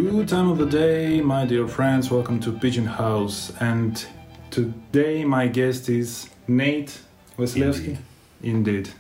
Good time of the day, my dear friends. Welcome to Pigeon House. And today my guest is Nate Vasilevsky. Indeed.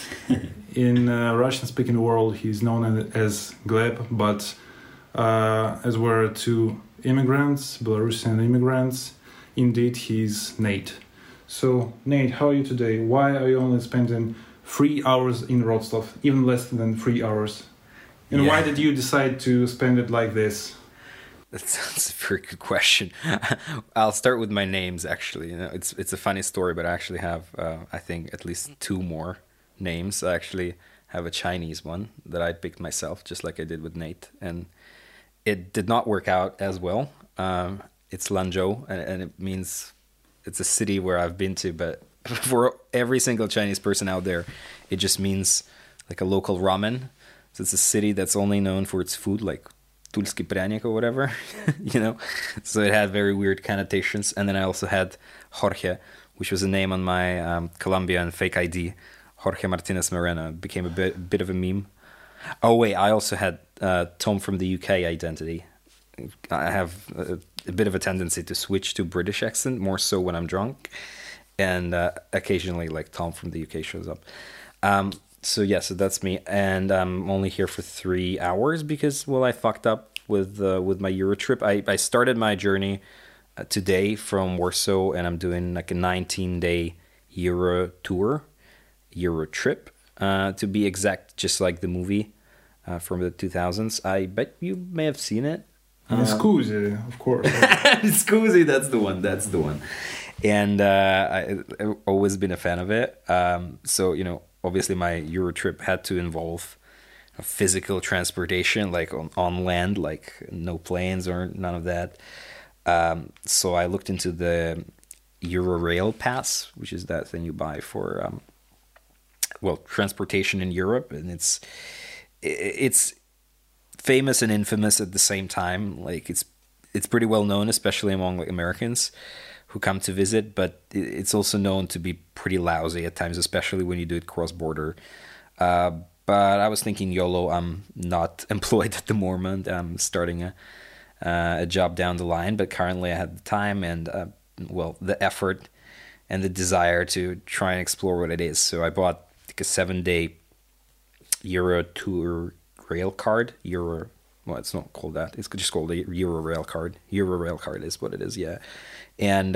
In Russian-speaking world, he's known as Gleb, but as we're two immigrants, Belarusian immigrants, indeed he's Nate. So, Nate, how are you today? Why are you only spending 3 hours in Rostov, even less than 3 hours? And why did you decide to spend it like this? That's a very good question. I'll start with my names, actually. You know, it's a funny story, but I actually have, I think, at least 2 more names. I actually have a Chinese one that I picked myself, just like I did with Nate. And it did not work out as well. It's Lanzhou, and it means it's a city where I've been to, but for every single Chinese person out there, it just means like a local ramen. So it's a city that's only known for its food, like Tulsky Pryanik or whatever, you know. So it had very weird connotations. And then I also had Jorge, which was a name on my Colombian fake ID. Jorge Martinez Moreno became a bit of a meme. Oh wait, I also had Tom from the UK identity. I have a bit of a tendency to switch to British accent, more so when I'm drunk. And occasionally, like, Tom from the UK shows up. So that's me, and I'm only here for 3 hours because, well, I fucked up with my Euro trip. I started my journey today from Warsaw, and I'm doing like a 19-day Euro trip, to be exact, just like the movie from the 2000s. I bet you may have seen it. Scusi, of course. Scusi, that's the one. And I've always been a fan of it. So, you know, obviously my Euro trip had to involve physical transportation, like on land, like no planes or none of that. So I looked into the Eurorail pass, which is that thing you buy for, transportation in Europe. And it's famous and infamous at the same time. Like it's pretty well known, especially among like Americans who come to visit, but it's also known to be pretty lousy at times, especially when you do it cross-border. But I was thinking, YOLO, I'm not employed at the moment. I'm starting a job down the line, but currently I had the time and, the effort and the desire to try and explore what it is. So I bought like a 7-day Euro tour rail card. It's not called that. It's just called a Euro rail card. Euro rail card is what it is, yeah. And,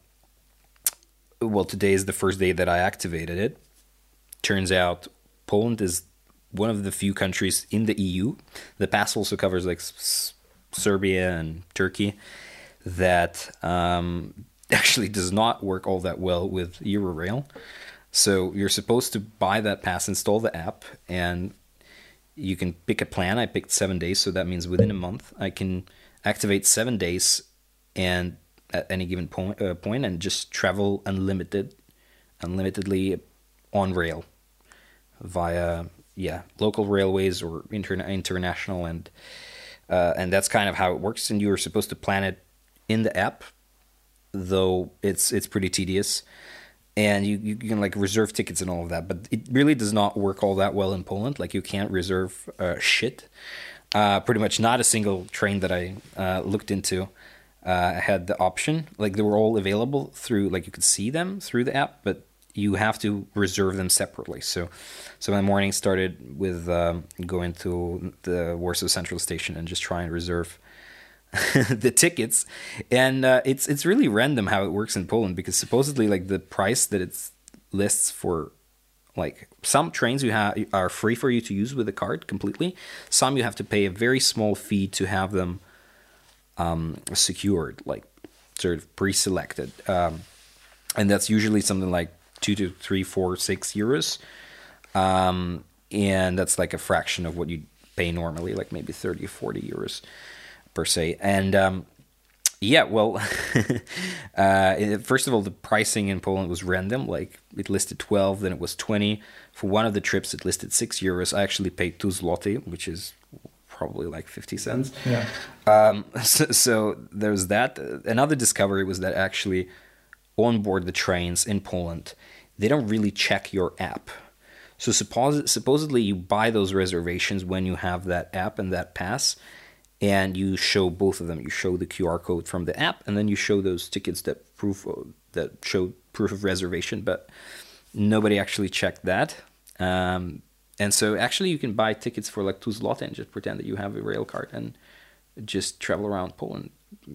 today is the first day that I activated it. Turns out Poland is one of the few countries in the EU. The pass also covers like Serbia and Turkey that actually does not work all that well with Eurorail. So you're supposed to buy that pass, install the app, and you can pick a plan. I picked 7 days, so that means within a month I can activate 7 days and at any given point and just travel unlimitedly on rail via local railways or international, and that's kind of how it works. And you are supposed to plan it in the app, though it's pretty tedious. And you can like reserve tickets and all of that, but it really does not work all that well in Poland. Like you can't reserve shit. Pretty much not a single train that I looked into had the option. Like they were all available through, like you could see them through the app, but you have to reserve them separately. So my morning started with going to the Warsaw Central Station and just trying to reserve the tickets, and it's really random how it works in Poland, because supposedly like the price that it lists for like some trains are free for you to use with the card completely. Some you have to pay a very small fee to have them secured, like sort of pre-selected, and that's usually something like 2 to 3, 4, 6 euros, and that's like a fraction of what you pay normally, like maybe 30 or 40 euros per se. And first of all, the pricing in Poland was random. Like it listed 12, then it was 20. For one of the trips, it listed 6 euros. I actually paid 2 zloty, which is probably like 50 cents. Yeah. So there's that. Another discovery was that actually on board the trains in Poland, they don't really check your app. So supposedly you buy those reservations when you have that app and that pass, and you show both of them. You show the QR code from the app, and then you show those tickets that show proof of reservation. But nobody actually checked that. And so actually you can buy tickets for like 2 zloty and just pretend that you have a rail card and just travel around Poland.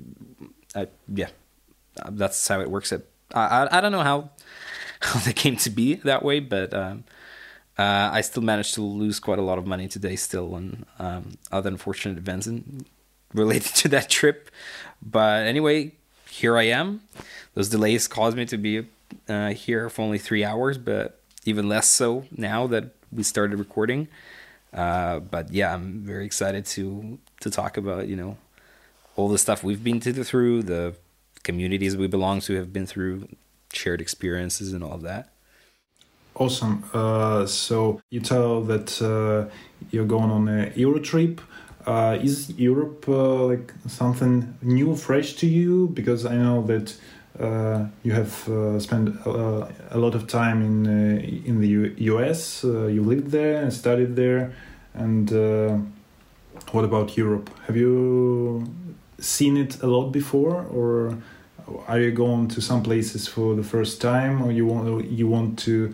That's how it works. I don't know how they came to be that way, but I still managed to lose quite a lot of money today still on other unfortunate events related to that trip. But anyway, here I am. Those delays caused me to be here for only 3 hours, but even less so now that we started recording. But yeah, I'm very excited to talk about, all the stuff we've been through, the communities we belong to have been through, shared experiences and all of that. Awesome. So you tell that you're going on a Euro trip. Is Europe like something new, fresh to you? Because I know that you have spent a lot of time in the US. You lived there and studied there. And what about Europe? Have you seen it a lot before, or are you going to some places for the first time, or you want to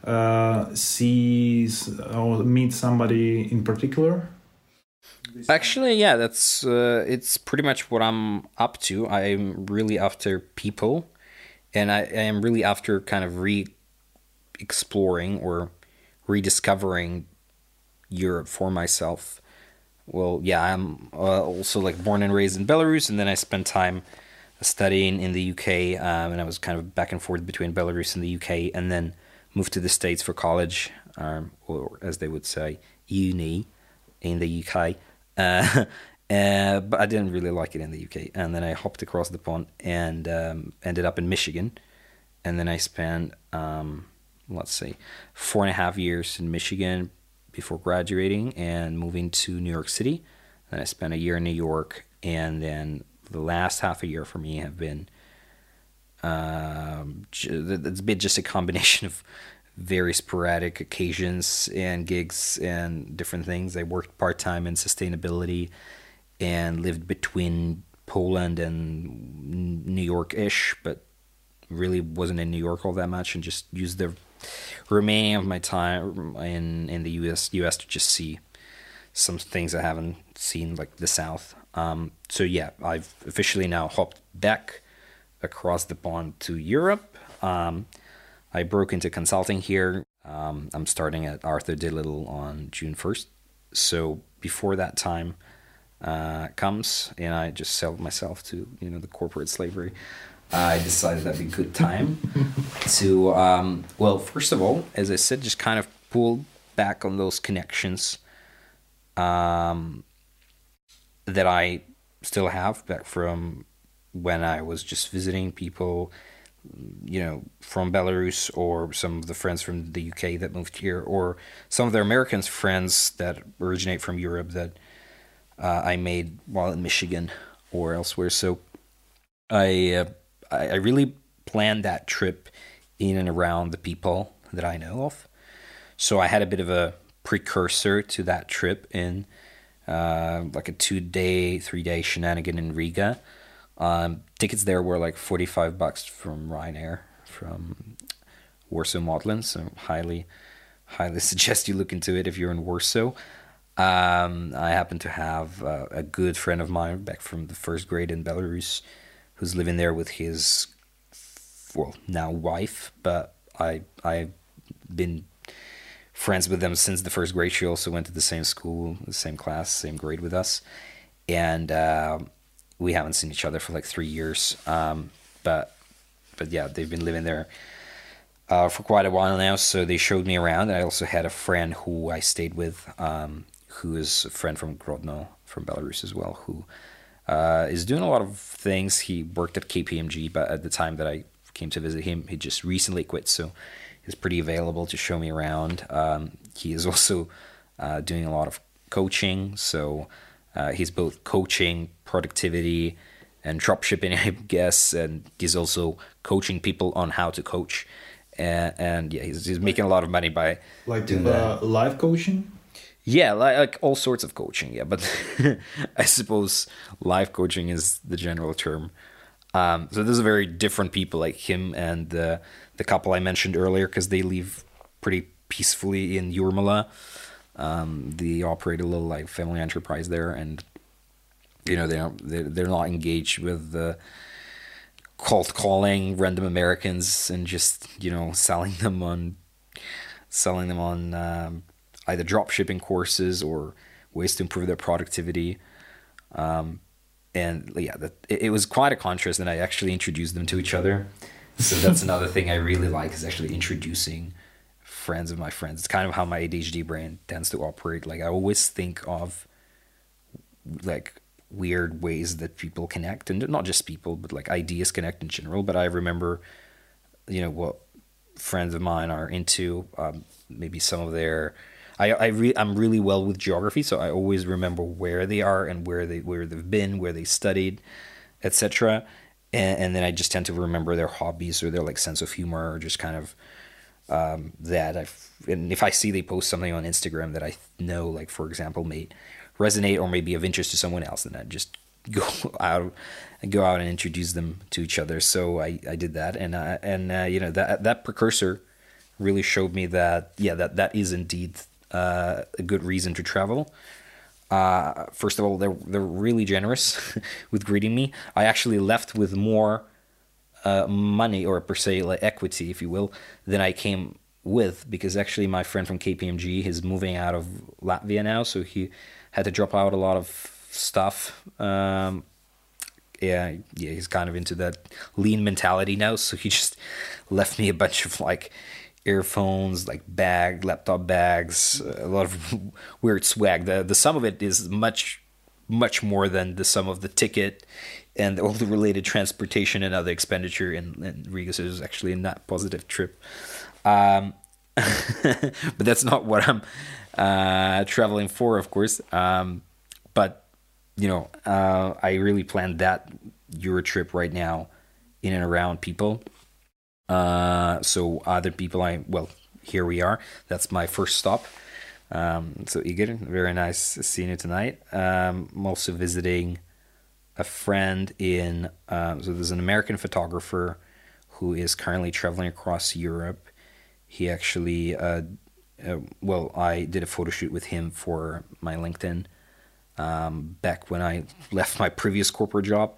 see or meet somebody in particular? Actually, yeah, that's it's pretty much what I'm up to. I'm really after people, and I am really after kind of re-exploring or rediscovering Europe for myself. Well, yeah, I'm also like born and raised in Belarus, and then I spent time studying in the UK, and I was kind of back and forth between Belarus and the UK, and then moved to the States for college, or as they would say, uni in the UK. But I didn't really like it in the UK, and then I hopped across the pond and ended up in Michigan, and then I spent 4.5 years in Michigan before graduating and moving to New York City. Then I spent a year in New York, and then the last half a year for me have been it's been just a combination of very sporadic occasions and gigs and different things. I worked part-time in sustainability and lived between Poland and New York-ish, but really wasn't in New York all that much, and just used the remaining of my time in the US to just see some things I haven't seen, like the South. So yeah, I've officially now hopped back across the pond to Europe. I broke into consulting here. I'm starting at Arthur D. Little on June 1st. So before that time comes and I just sell myself to the corporate slavery, I decided that'd be a good time to, first of all, as I said, just kind of pull back on those connections that I still have back from when I was just visiting people, from Belarus, or some of the friends from the UK that moved here, or some of the American friends that originate from Europe that I made while in Michigan or elsewhere. So I really planned that trip in and around the people that I know of. So I had a bit of a precursor to that trip in like a 3-day shenanigan in Riga. Tickets there were like $45 from Ryanair from Warsaw Modlin, so highly suggest you look into it if you're in Warsaw. I happen to have a good friend of mine back from the first grade in Belarus who's living there with his, now wife, but I've been friends with them since the first grade. She also went to the same school, the same class, same grade with us, and we haven't seen each other for like 3 years. But yeah, they've been living there for quite a while now, so they showed me around. I also had a friend who I stayed with, who is a friend from Grodno, from Belarus as well, who is doing a lot of things. He worked at KPMG, but at the time that I came to visit him, he just recently quit, so he's pretty available to show me around. He is also doing a lot of coaching, so he's both coaching productivity and dropshipping, I guess, and he's also coaching people on how to coach. And yeah, he's making a lot of money by doing that. Live coaching? Yeah, like all sorts of coaching. Yeah, but I suppose life coaching is the general term. So those are very different people, like him and the couple I mentioned earlier, because they live pretty peacefully in Jurmala. They operate a little like family enterprise there, and they're not engaged with the cold calling random Americans and just selling them on either drop shipping courses or ways to improve their productivity. And yeah, it was quite a contrast, and I actually introduced them to each other. So that's another thing I really like, is actually introducing friends of my friends. It's kind of how my ADHD brain tends to operate. Like I always think of like weird ways that people connect, and not just people, but like ideas connect in general. But I remember, what friends of mine are into. Maybe some of their, I'm really well with geography, so I always remember where they are and where they've been, where they studied, etc. And then I just tend to remember their hobbies or their like sense of humor, or just kind of and if I see they post something on Instagram that I know, like for example, may resonate or may be of interest to someone else, then I just go out and introduce them to each other. So I did that, and that precursor really showed me that that is indeed a good reason to travel. First of all, they're really generous with greeting me. I actually left with more money, or per se like equity, if you will, than I came with, because actually my friend from KPMG is moving out of Latvia now, so he had to drop out a lot of stuff. He's kind of into that lean mentality now, so he just left me a bunch of like earphones, like laptop bags, a lot of weird swag. The sum of it is much more than the sum of the ticket and all the related transportation and other expenditure in Riga. So it was actually a not positive trip. But that's not what I'm traveling for, of course. But I really planned that Euro trip right now in and around people. So other people, here we are. That's my first stop. So Igor, very nice seeing you tonight. I'm also visiting a friend so there's an American photographer who is currently traveling across Europe. He actually, I did a photo shoot with him for my LinkedIn back when I left my previous corporate job.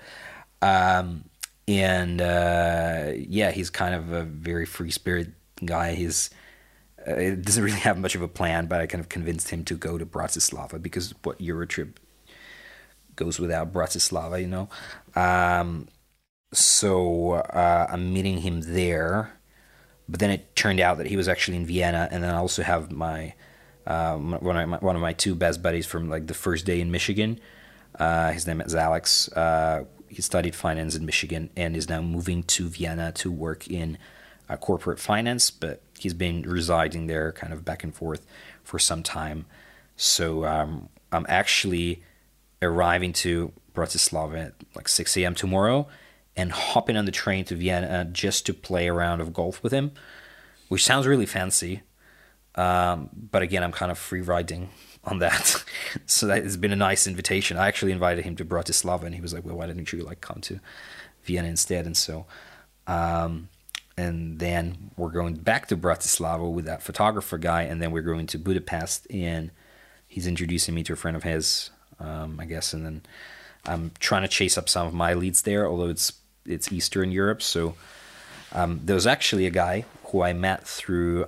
He's kind of a very free spirit guy. It doesn't really have much of a plan, but I kind of convinced him to go to Bratislava, because what Eurotrip goes without Bratislava, So I'm meeting him there, but then it turned out that he was actually in Vienna, and then I also have my one of my two best buddies from like the first day in Michigan. His name is Alex. He studied finance in Michigan and is now moving to Vienna to work in corporate finance, but he's been residing there kind of back and forth for some time. So I'm actually arriving to Bratislava at like 6 a.m. tomorrow and hopping on the train to Vienna just to play a round of golf with him, which sounds really fancy. But again, I'm kind of free riding on that. So that has been a nice invitation. I actually invited him to Bratislava, and he was like, well, why didn't you like come to Vienna instead? And so, and then we're going back to Bratislava with that photographer guy, and then we're going to Budapest, and he's introducing me to a friend of his, I guess, and then I'm trying to chase up some of my leads there, although it's Eastern Europe. So there was actually a guy who I met through,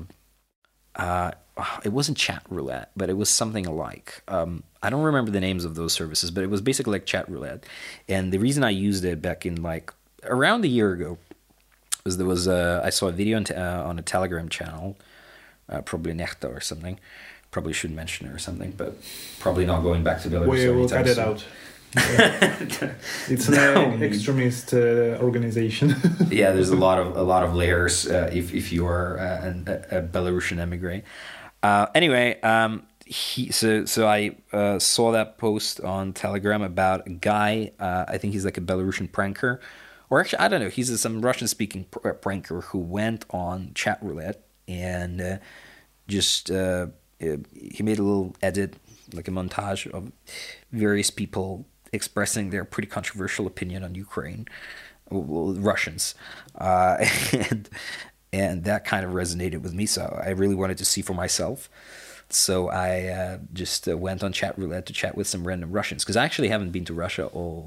it wasn't Chat Roulette, but it was something alike. I don't remember the names of those services, but it was basically like Chat Roulette. And the reason I used it back in like around a year ago was I saw a video on a Telegram channel, probably Nechta or something. Probably should mention it or something, but probably not going back to Belarus. We'll cut it out. It's an extremist organization. Yeah, there's a lot of layers if you are a Belarusian emigre. Anyway, so I saw that post on Telegram about a guy. I think he's like a Belarusian pranker, or actually I don't know. He's some Russian-speaking pranker who went on Chat Roulette and just he made a little edit, like a montage of various people expressing their pretty controversial opinion on Ukraine, Russians, and that kind of resonated with me. So I really wanted to see for myself. So I just went on chat roulette to chat with some random Russians, because I actually haven't been to Russia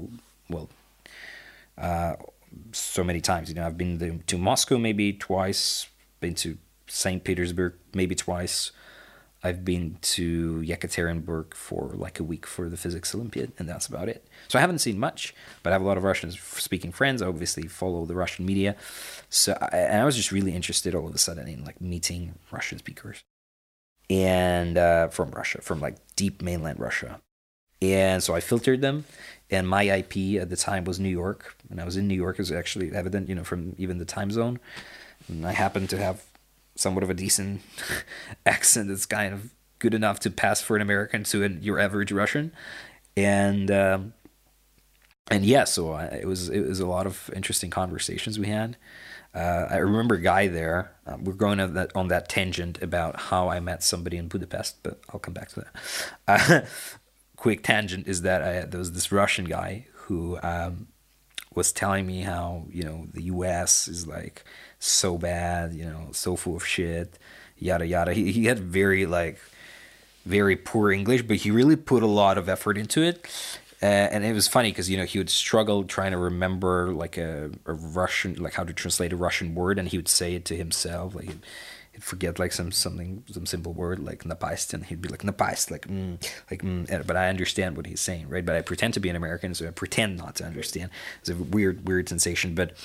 so many times. I've been to Moscow maybe twice, been to St. Petersburg maybe twice. I've been to Yekaterinburg for like a week for the physics Olympiad, and that's about it. So I haven't seen much, but I have a lot of Russian-speaking friends. I obviously follow the Russian media. So I was just really interested all of a sudden in like meeting Russian speakers. And from Russia, from like deep mainland Russia. And so I filtered them, and my IP at the time was New York, and I was in New York, is actually evident, from even the time zone. And I happened to have somewhat of a decent accent that's kind of good enough to pass for an American to your average Russian. And yeah, so it was a lot of interesting conversations we had. I remember a guy there. We're going on that tangent about how I met somebody in Budapest, but I'll come back to that. Quick tangent is that there was this Russian guy who was telling me how the U.S. is like so bad, so full of shit, yada yada. He had very poor English, but he really put a lot of effort into it. And it was funny because, he would struggle trying to remember like a Russian, like how to translate a Russian word, and he would say it to himself. Like he'd forget like some simple word like napast, and he'd be like napast, but I understand what he's saying, right? But I pretend to be an American, so I pretend not to understand. It's a weird sensation, but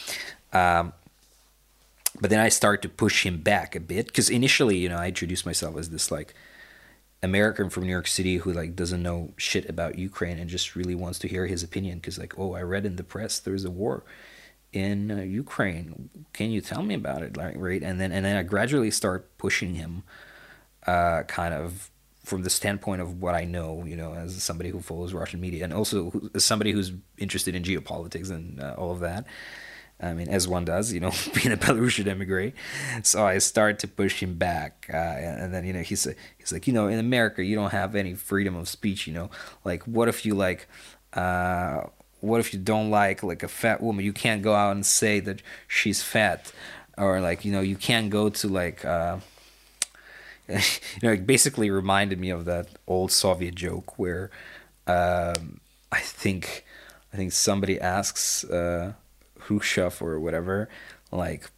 then I start to push him back a bit, because initially, I introduced myself as this like American from New York City who like doesn't know shit about Ukraine and just really wants to hear his opinion, because like, oh, I read in the press there's a war in Ukraine. Can you tell me about it? Like, right? And then I gradually start pushing him, kind of from the standpoint of what I know, as somebody who follows Russian media, and also as somebody who's interested in geopolitics and all of that. I mean, as one does, being a Belarusian emigre. So I start to push him back. And then, he's like, in America, you don't have any freedom of speech, Like, what if you don't like a fat woman? You can't go out and say that she's fat. Or, like, you can't go to, like, it basically reminded me of that old Soviet joke where I think somebody asks... Khrushchev or whatever, like,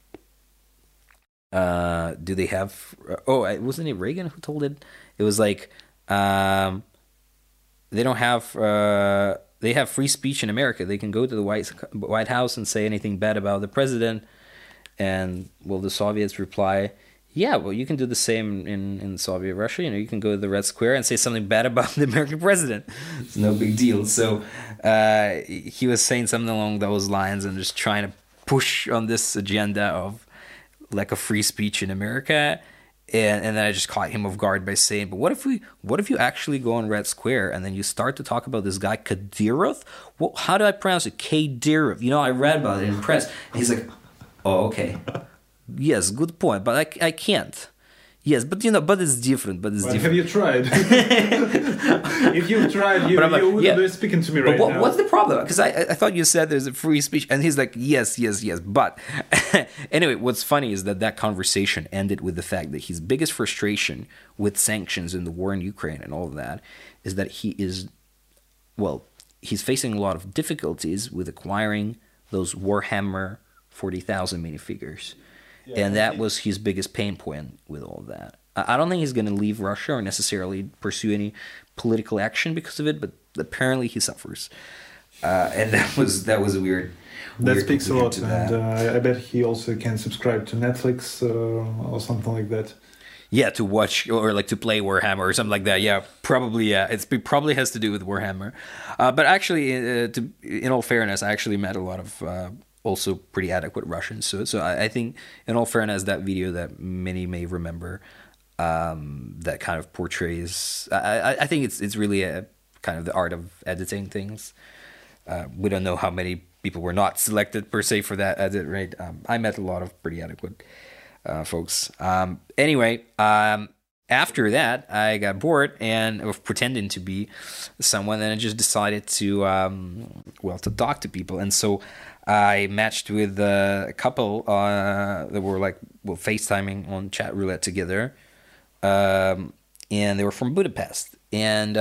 do they have? Wasn't it Reagan who told it? It was like, they don't have. They have free speech in America. They can go to the White House and say anything bad about the president, and the Soviets reply, yeah, well, you can do the same in Soviet Russia. You can go to the Red Square and say something bad about the American president. It's no big deal. So he was saying something along those lines and just trying to push on this agenda of like a free speech in America. And then I just caught him off guard by saying, but what if you actually go on Red Square and then you start to talk about this guy Kadyrov? Well, how do I pronounce it? Kadyrov. I read about it in press. And he's like, oh, okay. Yes, good point, but I can't. Yes, but but it's different. But it's different. Have you tried? If you tried, you wouldn't be speaking to me right now. What's the problem? Because I thought you said there's a free speech, and he's like, yes. But anyway, what's funny is that conversation ended with the fact that his biggest frustration with sanctions and the war in Ukraine and all of that is that he's facing a lot of difficulties with acquiring those Warhammer 40,000 minifigures. Yeah, and that was his biggest pain point with all of that. I don't think he's going to leave Russia or necessarily pursue any political action because of it, but apparently he suffers. And that was a weird. That speaks a lot, and I bet he also can subscribe to Netflix or something like that. Yeah, to watch or like to play Warhammer or something like that. Yeah, probably. Yeah, it probably has to do with Warhammer. But actually, in all fairness, I actually met a lot of. Also pretty adequate Russians. So I think, in all fairness, that video that many may remember, that kind of portrays. I think it's really a kind of the art of editing things. We don't know how many people were not selected per se for that edit, right? I met a lot of pretty adequate folks. Anyway. after that, I got bored and of pretending to be someone, and I just decided to, to talk to people. And so I matched with a couple that were like, FaceTiming on chat roulette together. And they were from Budapest. And,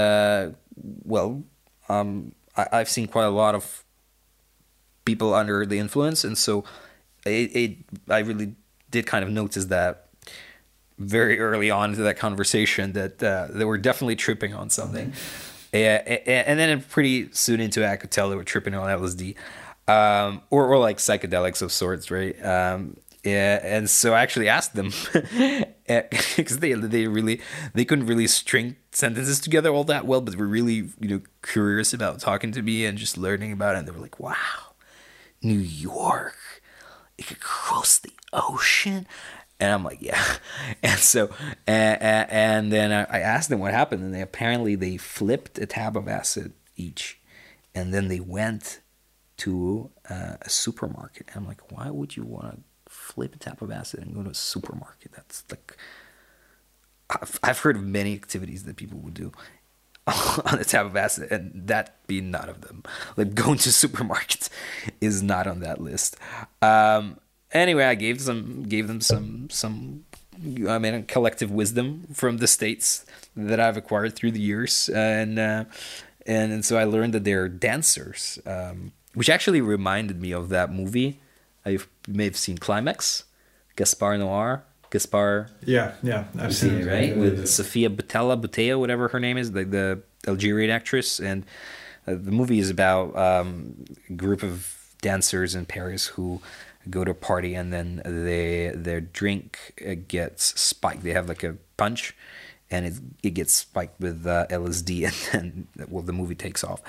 I've seen quite a lot of people under the influence. And so I really did kind of notice that very early on into that conversation that they were definitely tripping on something. And then pretty soon into it, I could tell they were tripping on LSD, or like psychedelics of sorts, right? And so I actually asked them because they couldn't really string sentences together all that well, but were really curious about talking to me and just learning about it. And they were like, "Wow, New York, it could cross the ocean." And I'm like, yeah. And so, and then I asked them what happened, and they flipped a tab of acid each, and then they went to a supermarket. And I'm like, why would you want to flip a tab of acid and go to a supermarket? That's like, I've heard of many activities that people would do on a tab of acid, and that being none of them. Like going to supermarkets is not on that list. Anyway, I gave them some collective wisdom from the States that I've acquired through the years, and so I learned that they're dancers, which actually reminded me of that movie. You may have seen Climax, Gaspar Noir. Yeah, I've seen it, right? With Sofia Boutella, whatever her name is, the Algerian actress, and the movie is about a group of dancers in Paris who go to a party, and then their drink gets spiked. They have like a punch, and it gets spiked with LSD, and then the movie takes off.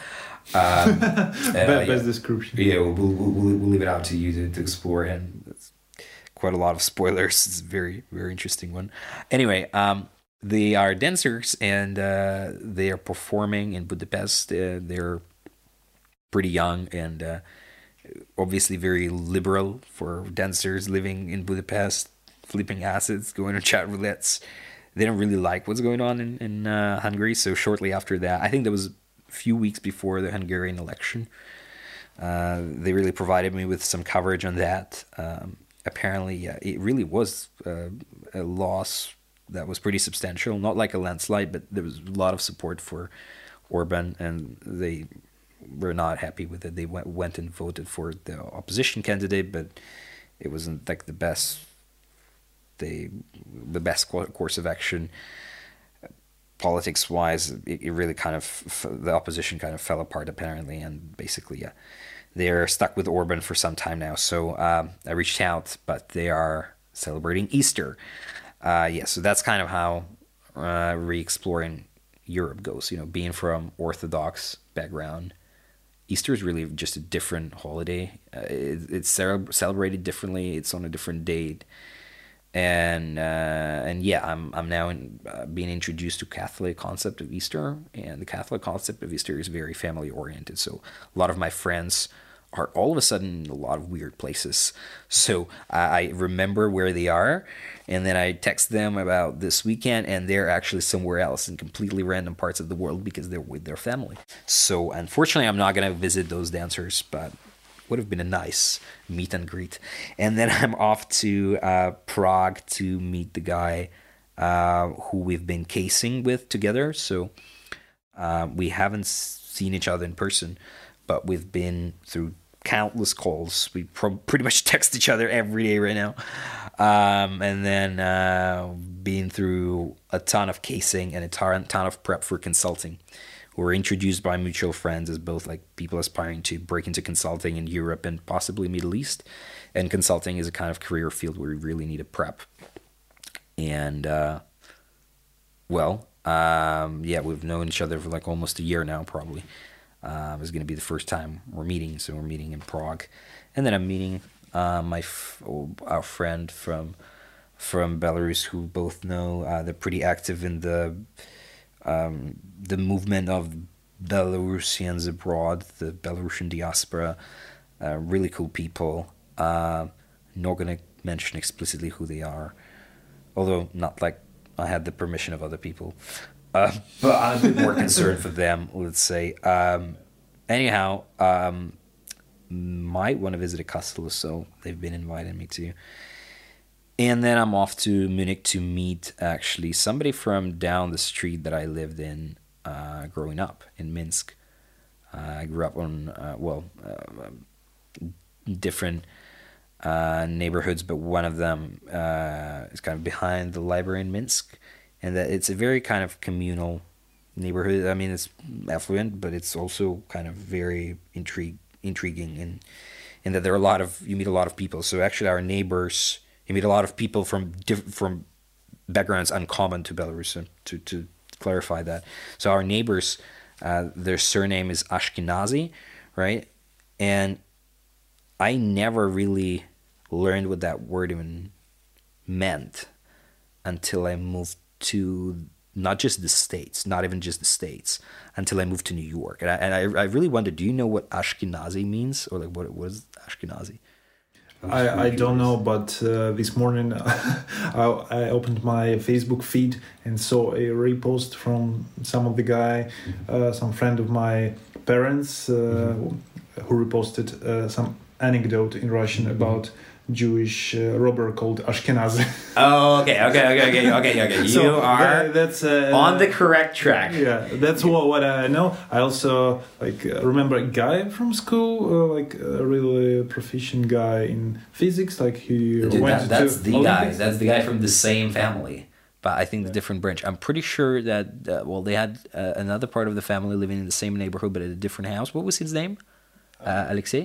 Best description. Yeah, we'll leave it out to you to explore, and it's quite a lot of spoilers. It's a very, very interesting one. Anyway, they are dancers, and they are performing in Budapest. They're pretty young and obviously very liberal for dancers living in Budapest, flipping acids, going on chat roulettes. They don't really like what's going on in Hungary. So shortly after that, I think that was a few weeks before the Hungarian election, they really provided me with some coverage on that. Apparently, it really was a loss that was pretty substantial, not like a landslide, but there was a lot of support for Orban, and they were not happy with it. They went and voted for the opposition candidate, but it wasn't like the best course of action. Politics wise, it really kind of, the opposition kind of fell apart apparently, and basically they're stuck with Orban for some time now. So I reached out, but they are celebrating Easter. So that's kind of how re-exploring Europe goes. Being from Orthodox background, Easter is really just a different holiday. It's celebrated differently. It's on a different date, and I'm now being introduced to Catholic concept of Easter, and the Catholic concept of Easter is very family oriented. So a lot of my friends are all of a sudden in a lot of weird places. So I remember where they are, and then I text them about this weekend, and they're actually somewhere else in completely random parts of the world because they're with their family. So unfortunately, I'm not going to visit those dancers, but would have been a nice meet and greet. And then I'm off to Prague to meet the guy who we've been casing with together. So we haven't seen each other in person, but we've been through countless calls. We pretty much text each other every day right now. And then been through a ton of casing and a ton of prep for consulting. We were introduced by mutual friends as both like people aspiring to break into consulting in Europe and possibly Middle East. And consulting is a kind of career field where you really need a prep. And we've known each other for like almost a year now, probably. It's going to be the first time we're meeting, so we're meeting in Prague, and then I'm meeting our friend from Belarus, who both know. They're pretty active in the movement of Belarusians abroad, the Belarusian diaspora. Really cool people. Not going to mention explicitly who they are, although not like I had the permission of other people. But I'm a bit more concerned for them, let's say. Anyhow, might want to visit a castle, so they've been inviting me to. And then I'm off to Munich to meet actually somebody from down the street that I lived in growing up in Minsk. I grew up on, different neighborhoods, but one of them is kind of behind the library in Minsk. And that it's a very kind of communal neighborhood. I mean, it's affluent, but it's also kind of very intriguing in that you meet a lot of people. So actually our neighbors, you meet a lot of people from backgrounds uncommon to Belarus, to clarify that. So our neighbors, their surname is Ashkenazi, right? And I never really learned what that word even meant until I moved to not just the States, not even just the States, until I moved to New York. And I really wondered, do you know what Ashkenazi means? Or like what is Ashkenazi? I don't know, but this morning I opened my Facebook feed and saw a repost from some of the guy, some friend of my parents, who reposted some anecdote in Russian about Jewish robber called Ashkenazi. Oh, okay. So, you are that's on the correct track. Yeah, that's what I know. I also remember a guy from school, a really proficient guy in physics. That's the guy from the same family, but I think the different branch. I'm pretty sure that they had another part of the family living in the same neighborhood, but at a different house. What was his name? Alexei?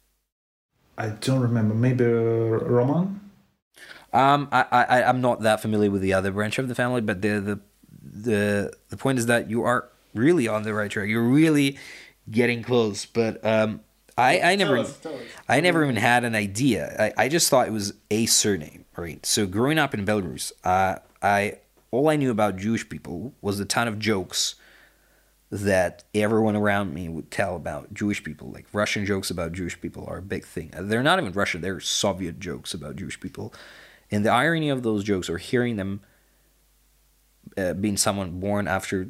I don't remember. Maybe Roman. I'm not that familiar with the other branch of the family, but the point is that you are really on the right track. You're really getting close. But I never even had an idea. I just thought it was a surname, right? So growing up in Belarus, all I knew about Jewish people was the ton of jokes that everyone around me would tell about Jewish people. Like Russian jokes about Jewish people are a big thing. They're not even Russian, they're Soviet jokes about Jewish people. And the irony of those jokes, or hearing them being someone born after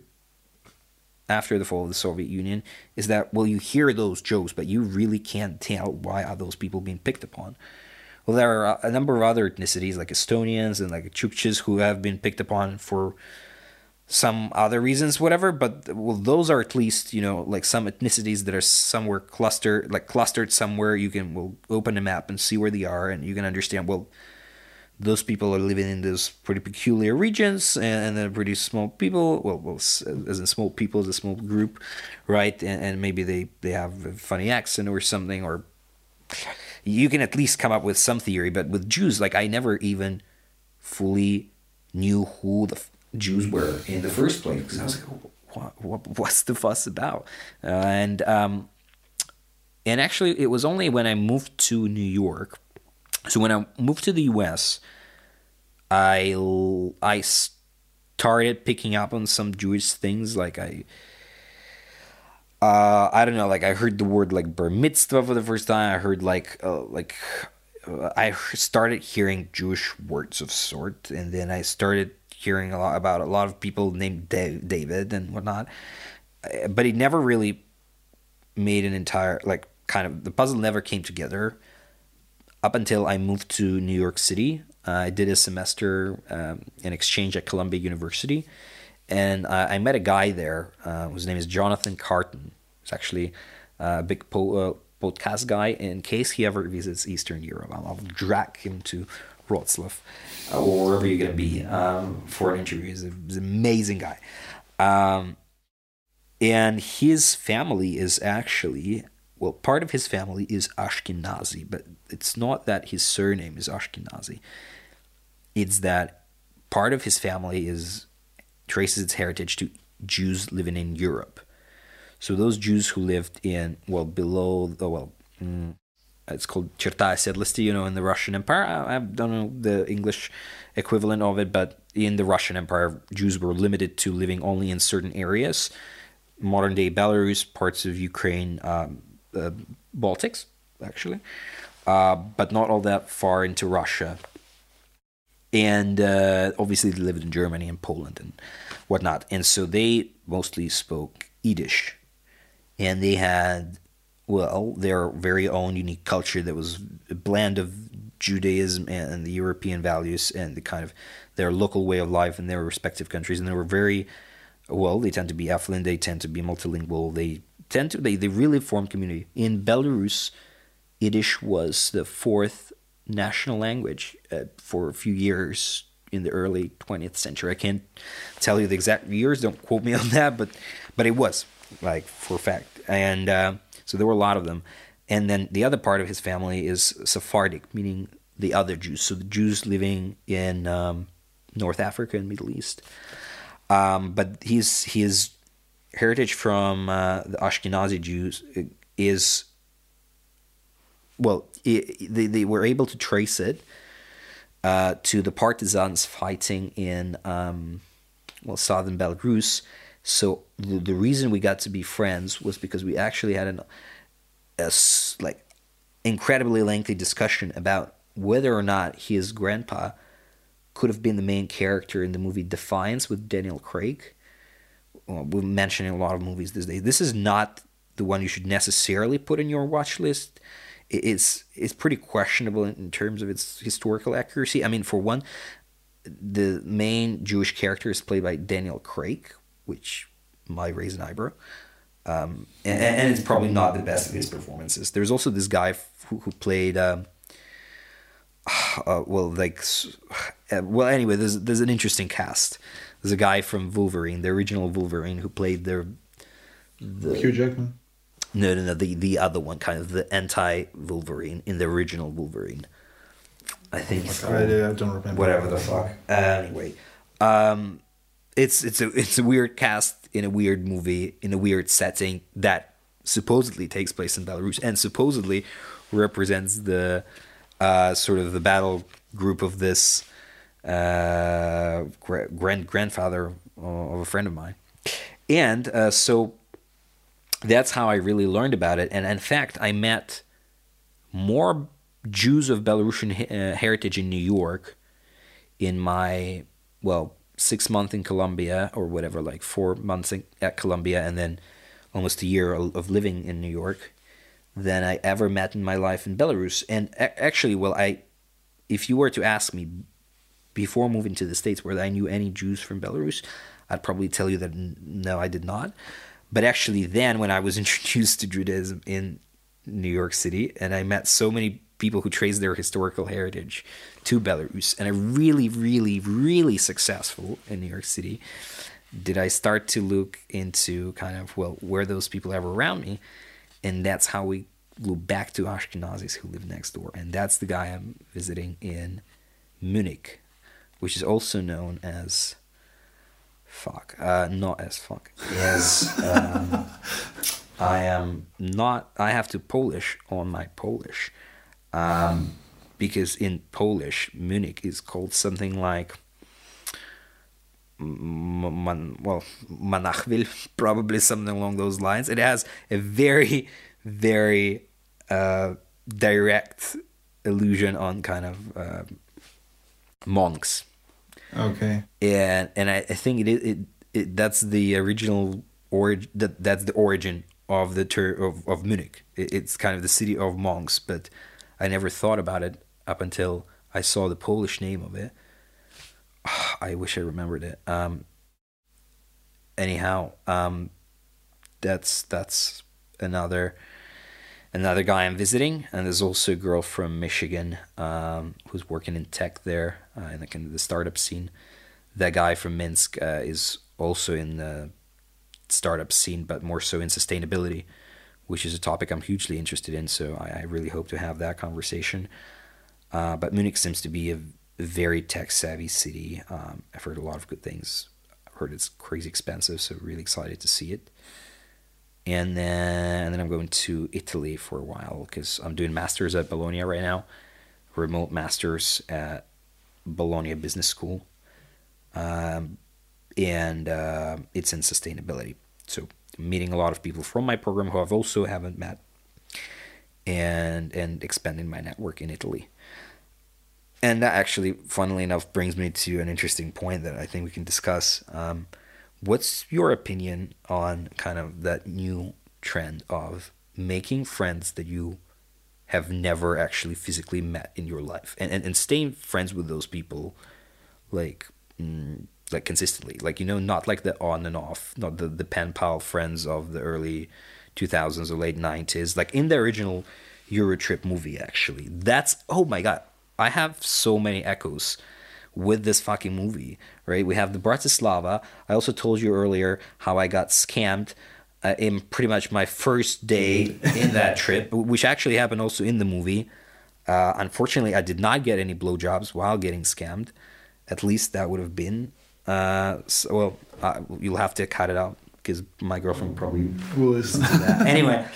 the fall of the Soviet Union, is that, you hear those jokes, but you really can't tell why are those people being picked upon. Well, there are a number of other ethnicities, like Estonians and like Chukchis, who have been picked upon for some other reasons, whatever, but those are at least, like some ethnicities that are somewhere clustered somewhere. You can open a map and see where they are, and you can understand, those people are living in those pretty peculiar regions, and they're pretty small people, as in small people, as a small group, right? And maybe they have a funny accent or something, or you can at least come up with some theory. But with Jews, I never even fully knew who the Jews were in the first place, because I was like, what's the fuss about? And actually, it was only when I moved to New York. So when I moved to the U.S., I started picking up on some Jewish things. I don't know. I heard the word bar mitzvah for the first time. I heard I started hearing Jewish words of sort, and then I started hearing about a lot of people named David and whatnot, but it never really made an entire, the puzzle never came together up until I moved to New York City. I did a semester in exchange at Columbia University, and I met a guy there whose name is Jonathan Carton. He's actually a big podcast guy. In case he ever visits Eastern Europe, I'll drag him to Wrocław or wherever you're going to be for an interview. He's an amazing guy. And his family is actually, part of his family is Ashkenazi, but it's not that his surname is Ashkenazi. It's that part of his family traces its heritage to Jews living in Europe. So those Jews who lived in, it's called Cherta Osedlosti, in the Russian Empire. I don't know the English equivalent of it, but in the Russian Empire, Jews were limited to living only in certain areas. Modern-day Belarus, parts of Ukraine, Baltics, actually, but not all that far into Russia. And obviously they lived in Germany and Poland and whatnot. And so they mostly spoke Yiddish. And they had, well, their very own unique culture that was a blend of Judaism and the European values and the kind of their local way of life in their respective countries. And they were very, well, they tend to be affluent, they tend to be multilingual, they really formed community. In Belarus, Yiddish was the fourth national language for a few years in the early 20th century. I can't tell you the exact years, don't quote me on that, but it was, like, for a fact. And so there were a lot of them. And then the other part of his family is Sephardic, meaning the other Jews. So the Jews living in North Africa and Middle East. But his heritage from the Ashkenazi Jews is, well, they were able to trace it to the partisans fighting in southern Belarus. So the reason we got to be friends was because we actually had a incredibly lengthy discussion about whether or not his grandpa could have been the main character in the movie Defiance with Daniel Craig. We're mentioning a lot of movies these days. This is not the one you should necessarily put in your watch list. It's pretty questionable in terms of its historical accuracy. I mean, for one, the main Jewish character is played by Daniel Craig, which might raise an eyebrow. And it's probably not the best of his performances. There's also this guy who played... anyway, there's an interesting cast. There's a guy from Wolverine, the original Wolverine, who played the Hugh Jackman. No, the other one, kind of the anti-Wolverine in the original Wolverine. I think I don't remember. Whatever the fuck. Anyway, it's a weird cast in a weird movie in a weird setting that supposedly takes place in Belarus and supposedly represents the sort of the battle group of this grandfather of a friend of mine. And so that's how I really learned about it. And in fact, I met more Jews of Belarusian heritage in New York in my, 6 months in Colombia or whatever, like 4 months at Colombia and then almost a year of living in New York than I ever met in my life in Belarus. And actually, if you were to ask me before moving to the States whether I knew any Jews from Belarus, I'd probably tell you that no, I did not. But actually then, when I was introduced to Judaism in New York City, and I met so many people who trace their historical heritage to Belarus, and are really, really, really successful in New York City, did I start to look into kind of, where those people are around me. And that's how we flew back to Ashkenazis who live next door. And that's the guy I'm visiting in Munich, which is also known as... not as fuck. As... I have to Polish on my Polish. Because in Polish, Munich is called something like... Manachville, probably something along those lines. It has a very, very direct allusion on kind of monks. Okay. And I think that's the original origin. That's the origin of the term of Munich. It's kind of the city of monks, but I never thought about it up until I saw the Polish name of it. I wish I remembered it. Anyhow, that's another guy I'm visiting, and there's also a girl from Michigan who's working in tech there in the kind of the startup scene. That guy from Minsk is also in the startup scene, but more so in sustainability, which is a topic I'm hugely interested in. So I really hope to have that conversation. But Munich seems to be a very tech-savvy city. I've heard a lot of good things. I've heard it's crazy expensive, so really excited to see it. And then I'm going to Italy for a while because I'm doing masters at Bologna right now, remote masters at Bologna Business School, and it's in sustainability. So I'm meeting a lot of people from my program who I've also haven't met, and expanding my network in Italy. And that actually, funnily enough, brings me to an interesting point that I think we can discuss. What's your opinion on kind of that new trend of making friends that you have never actually physically met in your life, and staying friends with those people, like like consistently, like, you know, not like the on and off, not the pen pal friends of the early 2000s or late 90s, like in the original Eurotrip movie. Actually, that's, oh my god, I have so many echoes with this fucking movie, right? We have the Bratislava. I also told you earlier how I got scammed in pretty much my first day in that trip, which actually happened also in the movie. Unfortunately, I did not get any blowjobs while getting scammed. At least that would have been. You'll have to cut it out because my girlfriend probably will listen to that. Anyway,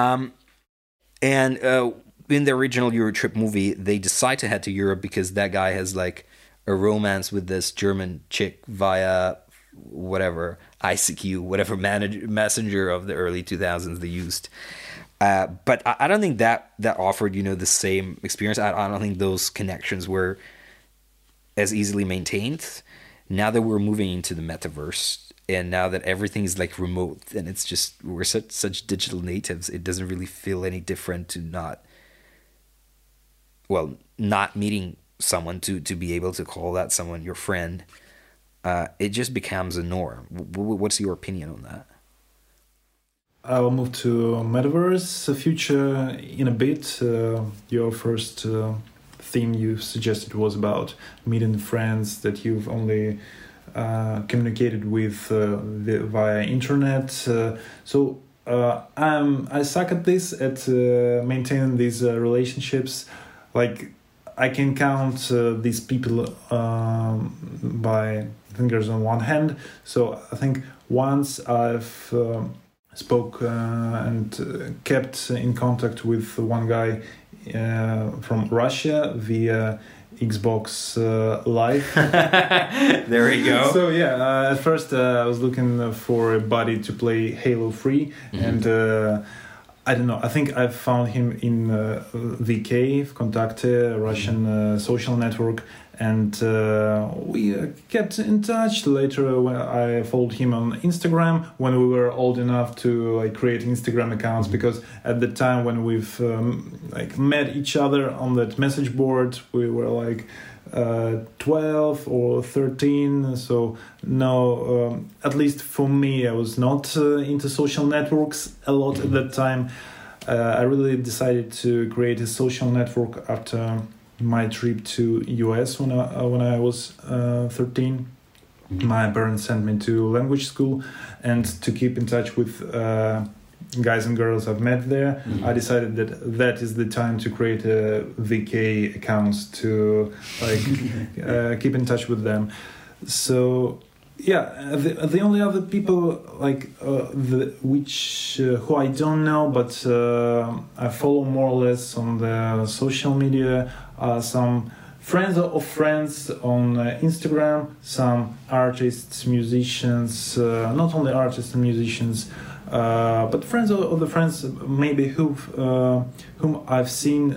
in the original Eurotrip movie, they decide to head to Europe because that guy has like a romance with this German chick via whatever ICQ, whatever messenger of the early 2000s they used. But I don't think that offered, you know, the same experience. I don't think those connections were as easily maintained. Now that we're moving into the metaverse, and now that everything's like remote, and it's just, we're such digital natives, it doesn't really feel any different to not meeting someone to be able to call that someone your friend. It just becomes a norm. What's your opinion on that? I'll move to Metaverse future in a bit. Your first theme you suggested was about meeting friends that you've only communicated with via internet. So I suck at this, at maintaining these relationships. Like, I can count these people by fingers on one hand. So I think once I've spoke and kept in contact with one guy from Russia via Xbox Live. There we go. So yeah, at first I was looking for a buddy to play Halo 3, and I don't know, I think I found him in VK, Vkontakte, a Russian social network, and we kept in touch. Later, when I followed him on Instagram when we were old enough to like create Instagram accounts, because at the time when we've like met each other on that message board, we were like 12 or 13. So no, at least for me, I was not into social networks a lot at that time. I really decided to create a social network after my trip to US when I was 13. My parents sent me to language school, and to keep in touch with guys and girls I've met there, I decided that is the time to create a VK accounts to like keep in touch with them. So yeah, the only other people like who I don't know, but I follow more or less on the social media, some friends of friends on Instagram, some artists, musicians, not only artists and musicians, but friends of the friends maybe whom I've seen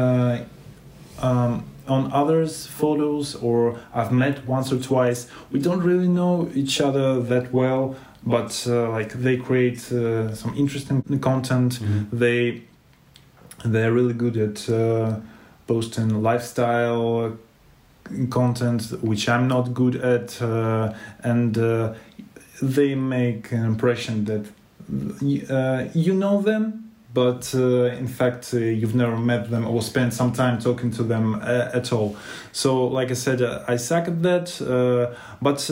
on others' photos, or I've met once or twice. We don't really know each other that well, but like they create some interesting content. They're really good at posting lifestyle content, which I'm not good at, and they make an impression that you know them, but in fact you've never met them or spent some time talking to them at all. So like I said, I suck at that, but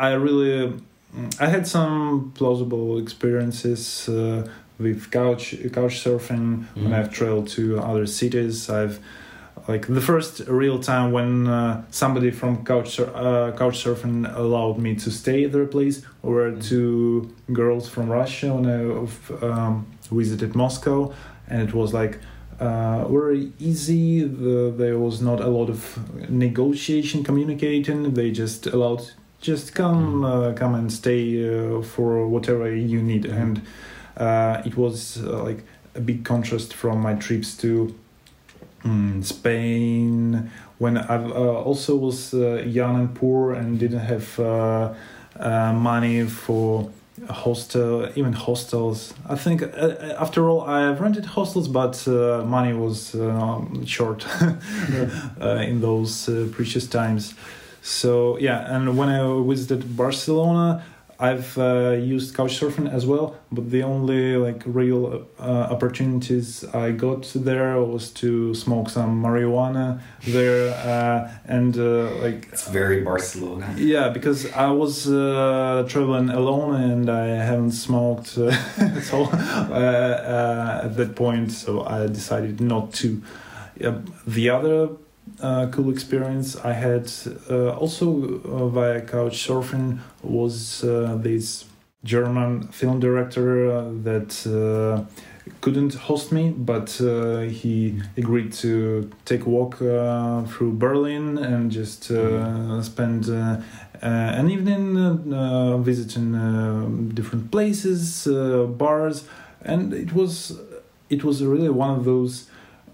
I had some plausible experiences with couch surfing when I've traveled to other cities. I've like the first real time when somebody from couch surfing allowed me to stay at their place were two girls from Russia when I visited Moscow, and it was like very easy. There was not a lot of negotiation, communicating. They just allowed, just come and stay for whatever you need, and it was like a big contrast from my trips to Spain, when I also was young and poor and didn't have money for a hostel, even hostels. I think after all, I've rented hostels, but money was short in those precious times. So yeah, and when I visited Barcelona, I've used Couchsurfing as well, but the only like real opportunities I got there was to smoke some marijuana there, and like It's very Barcelona. yeah, because I was traveling alone and I haven't smoked at all at that point, so I decided not to. The other cool experience I had also via Couchsurfing was this German film director that couldn't host me, but he agreed to take a walk through Berlin and just spend an evening visiting different places, bars, and it was really one of those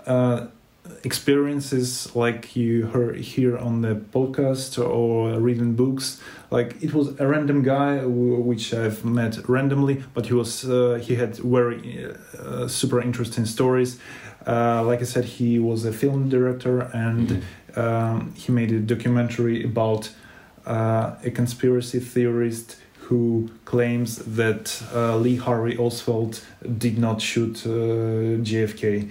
experiences like you hear on the podcast or reading books. Like it was a random guy which I've met randomly, but he had very super interesting stories. Like I said, he was a film director and he made a documentary about a conspiracy theorist who claims that Lee Harvey Oswald did not shoot JFK.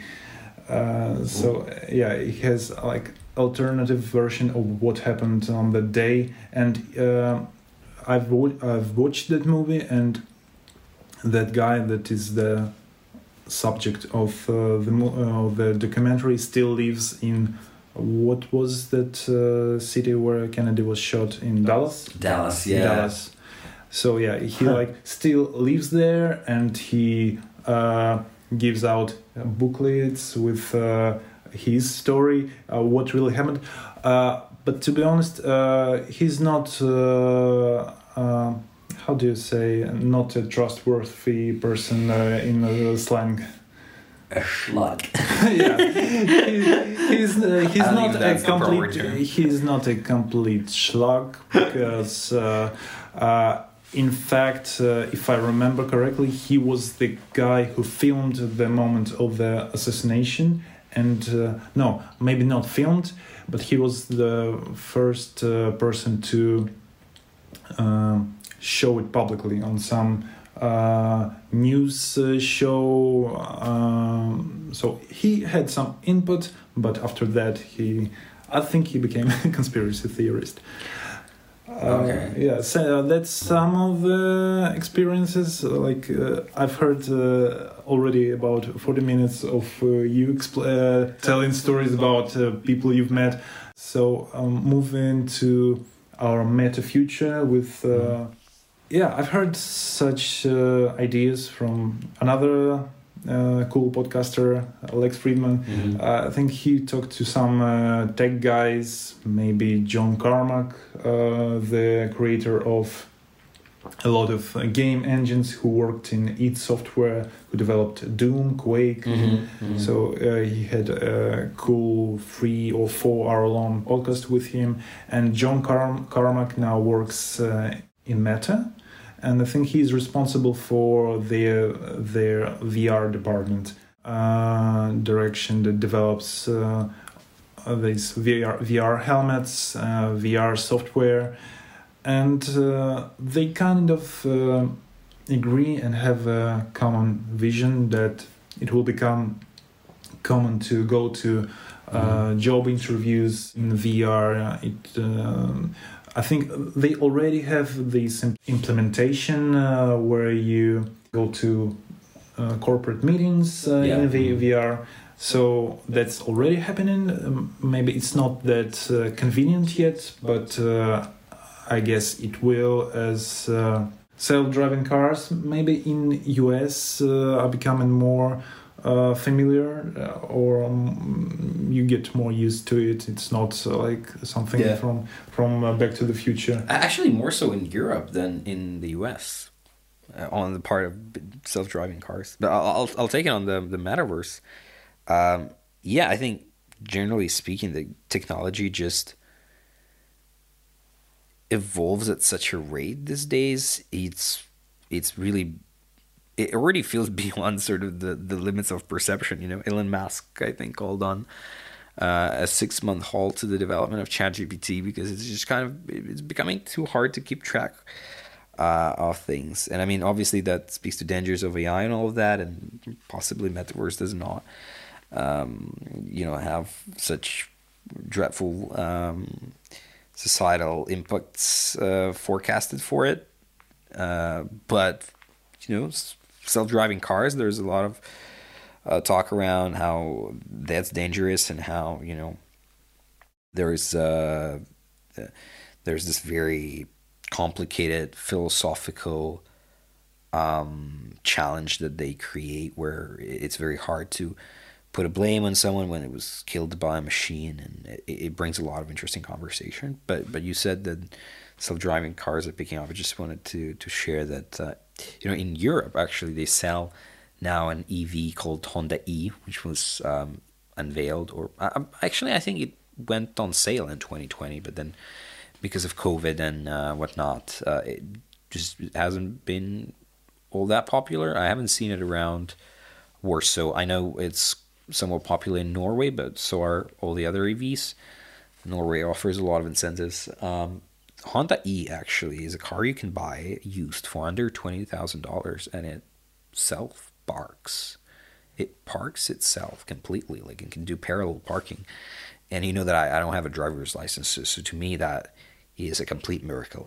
So yeah, he has like alternative version of what happened on the day, and I've watched that movie, and that guy that is the subject of the documentary still lives in what was that city where Kennedy was shot in Dallas? Dallas, yeah. Dallas. So yeah, he like still lives there, and he gives out booklets with his story, what really happened. But to be honest, he's not, how do you say, not a trustworthy person in slang. A schluck. Yeah, he's not a complete. term. He's not a complete schluck because. In fact, if I remember correctly, he was the guy who filmed the moment of the assassination. And no, maybe not filmed, but he was the first person to show it publicly on some news show. So he had some input, but after that, I think he became a conspiracy theorist. Okay. Yeah, so that's some of the experiences. Like I've heard already about 40 minutes of you telling stories about people you've met. So moving to our meta future with yeah, I've heard such ideas from another cool podcaster, Alex Friedman. I think he talked to some tech guys, maybe John Carmack, the creator of a lot of game engines, who worked in id Software, who developed Doom, Quake. So he had a cool 3 or 4 hour long podcast with him. And John Carmack now works in Meta. And I think he's responsible for their VR department, direction that develops these VR helmets, VR software, and they kind of agree and have a common vision that it will become common to go to job interviews in VR. I think they already have this implementation where you go to corporate meetings in the VR. So that's already happening. Maybe it's not that convenient yet, but I guess it will as self-driving cars maybe in US are becoming more familiar, or you get more used to it. It's not like something from Back to the Future. Actually, more so in Europe than in the US, on the part of self-driving cars. But I'll take it on the metaverse. Yeah, I think generally speaking, the technology just evolves at such a rate these days. It's really, it already feels beyond sort of the limits of perception. You know, Elon Musk, I think, called on a 6-month halt to the development of ChatGPT because it's just kind of, it's becoming too hard to keep track of things. And I mean, obviously that speaks to dangers of AI and all of that, and possibly metaverse does not, have such dreadful societal impacts forecasted for it. But self-driving cars, there's a lot of talk around how that's dangerous and how there's this very complicated philosophical challenge that they create where it's very hard to put a blame on someone when it was killed by a machine, and it brings a lot of interesting conversation. But you said that self-driving cars are picking up. I just wanted to share that in Europe actually they sell now an EV called Honda E, which was unveiled, or actually I think it went on sale in 2020, but then because of COVID and whatnot, it just hasn't been all that popular. I haven't seen it around Warsaw. I know it's somewhat popular in Norway, but so are all the other EVs. Norway offers a lot of incentives. Honda E actually is a car you can buy used for under $20,000, and it self-parks. It parks itself completely, like it can do parallel parking. And you know that I don't have a driver's license, so to me that is a complete miracle.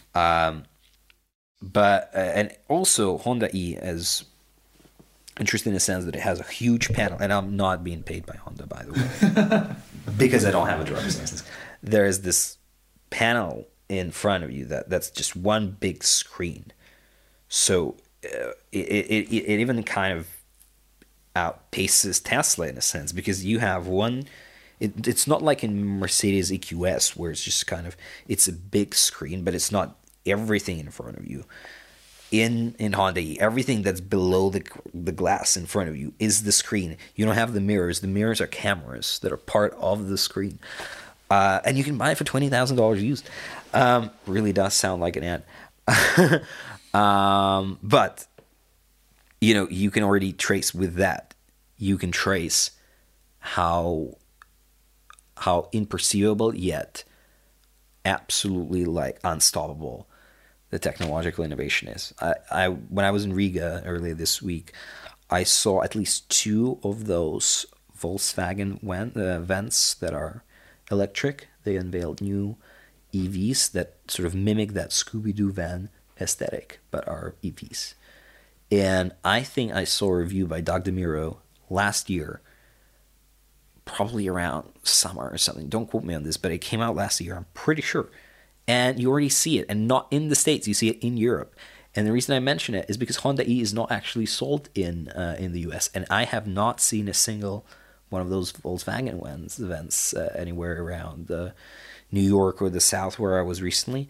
But and also Honda E is interesting in the sense that it has a huge panel, and I'm not being paid by Honda, by the way, because I don't have a driver's license. There is this panel in front of you that's just one big screen. So it even kind of outpaces Tesla in a sense, because you have one. It's not like in Mercedes EQS where it's just kind of, it's a big screen, but it's not everything in front of you. In Honda E, everything that's below the glass in front of you is the screen. You don't have the mirrors. The mirrors are cameras that are part of the screen. And you can buy it for $20,000 used. Really does sound like an ad. But, you can already trace with that. You can trace how imperceivable yet absolutely like unstoppable the technological innovation is. When I was in Riga earlier this week, I saw at least 2 of those Volkswagen vans that are electric. They unveiled new EVs that sort of mimic that Scooby-Doo van aesthetic, but are EVs. And I think I saw a review by Doug DeMuro last year, probably around summer or something. Don't quote me on this, but it came out last year, I'm pretty sure. And you already see it, and not in the States, you see it in Europe. And the reason I mention it is because Honda E is not actually sold in the US, and I have not seen a single one of those Volkswagen events anywhere around New York or the South where I was recently.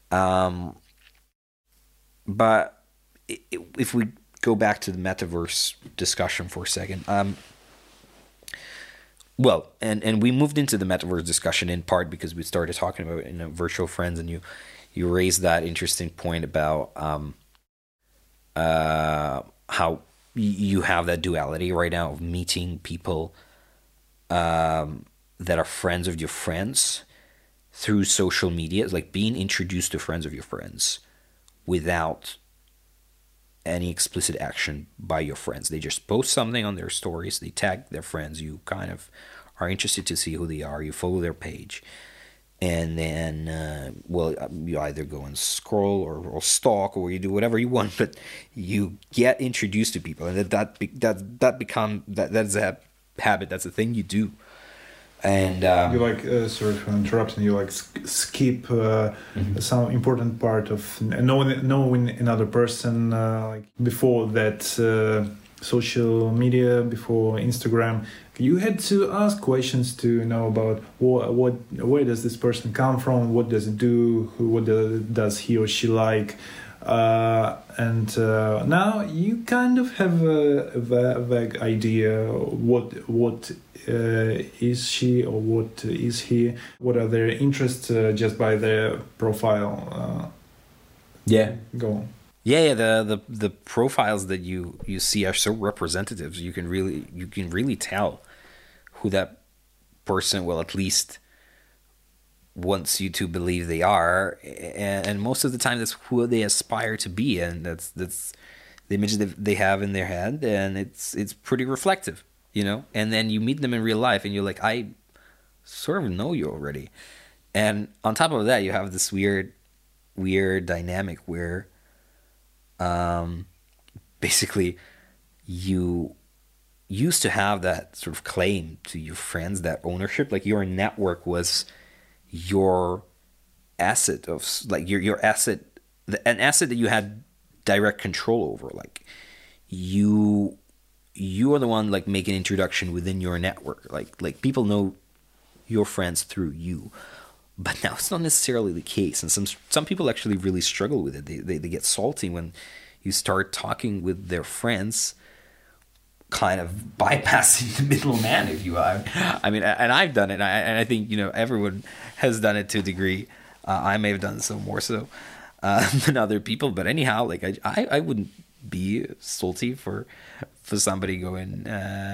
But if we go back to the metaverse discussion for a second, well, and we moved into the metaverse discussion in part because we started talking about virtual friends, and you raised that interesting point about how you have that duality right now of meeting people that are friends of your friends through social media. It's like being introduced to friends of your friends without any explicit action by your friends. They just post something on their stories, they tag their friends, you kind of are interested to see who they are, you follow their page, and then you either go and scroll or stalk, or you do whatever you want, but you get introduced to people, and that's a habit, that's a thing you do. And you sorry for interrupting, you skip some important part of knowing another person, before that social media, before Instagram. You had to ask questions to know about where does this person come from, what does it do, what does he or she like. And now you kind of have a vague idea what is she or what is he, what are their interests just by their profile. Go on. Yeah. The profiles that you see are so representative. You can really tell who that person, well, at least wants you to believe they are, and most of the time that's who they aspire to be, and that's the image that they have in their head, and it's pretty reflective, you know. And then you meet them in real life, and you're like, I sort of know you already. And on top of that, you have this weird dynamic where, basically, you used to have that sort of claim to your friends, that ownership, like your network was your asset of like your asset, an asset that you had direct control over. Like you are the one like making introduction within your network. Like people know your friends through you. But now it's not necessarily the case, and some people actually really struggle with it. They get salty when you start talking with their friends, kind of bypassing the middleman, if you will. I mean, and I've done it, and I think, you know, everyone has done it to a degree. I may have done so more so than other people, but anyhow, like I wouldn't be salty for somebody going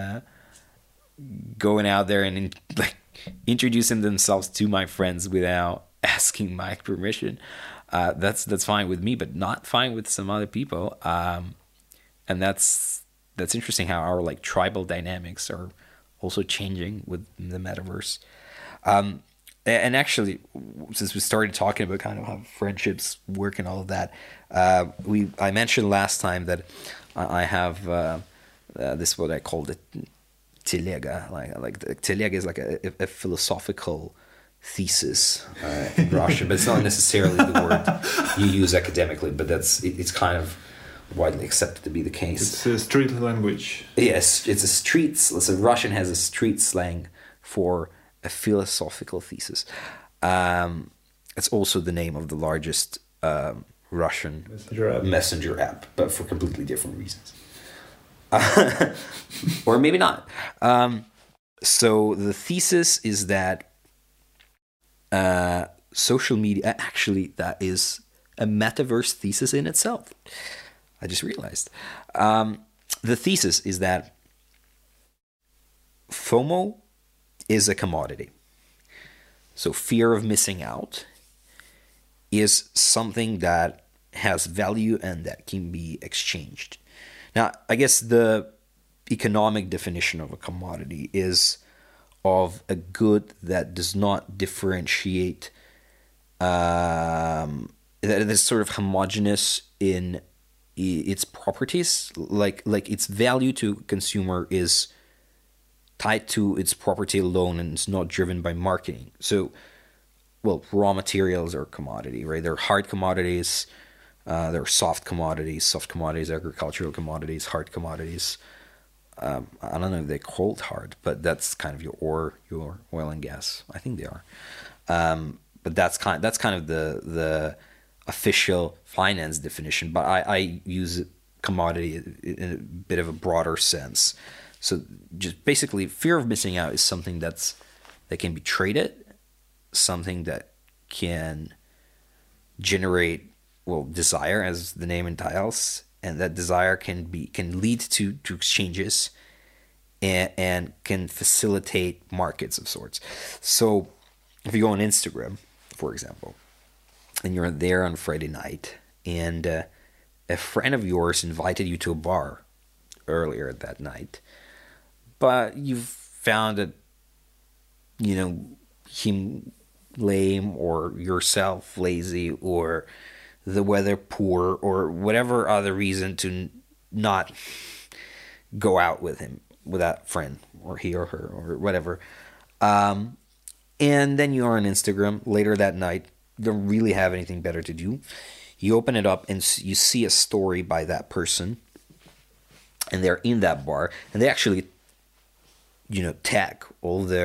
out there and like introducing themselves to my friends without asking my permission. That's fine with me, but not fine with some other people. And that's interesting how our like tribal dynamics are also changing with the metaverse. And actually, since we started talking about kind of how friendships work and all of that, I mentioned last time that I have this, what I called it, telega. Like the telega is like a philosophical thesis in Russian, but it's not necessarily the word you use academically, but it's kind of widely accepted to be the case. It's a street language. Yes, it's a street. So Russian has a street slang for a philosophical thesis. It's also the name of the largest Russian messenger app, but for completely different reasons. Or maybe not. So the thesis is that social media, actually, that is a metaverse thesis in itself. I just realized. The thesis is that FOMO is a commodity. So fear of missing out is something that has value and that can be exchanged. Now, I guess the economic definition of a commodity is of a good that does not differentiate, that is sort of homogeneous in its properties, like its value to consumer is tied to its property alone and it's not driven by marketing. So, well, raw materials are a commodity, right? There are hard commodities, there are soft commodities, agricultural commodities, hard commodities. I don't know if they're called hard, but that's kind of your oil and gas. I think they are. But that's kind of the official finance definition. But I use commodity in a bit of a broader sense. So just basically, fear of missing out is something that can be traded, something that can generate, well, desire, as the name entails, and that desire can lead to exchanges and can facilitate markets of sorts. So if you go on Instagram, for example, and you're there on Friday night, and a friend of yours invited you to a bar earlier that night, but you've found that, you know, him lame or yourself lazy or the weather poor or whatever other reason to not go out with him, with that friend, or he or her or whatever. And then you're on Instagram later that night, you don't really have anything better to do. You open it up and you see a story by that person, and they're in that bar, and they actually, you know, tag all their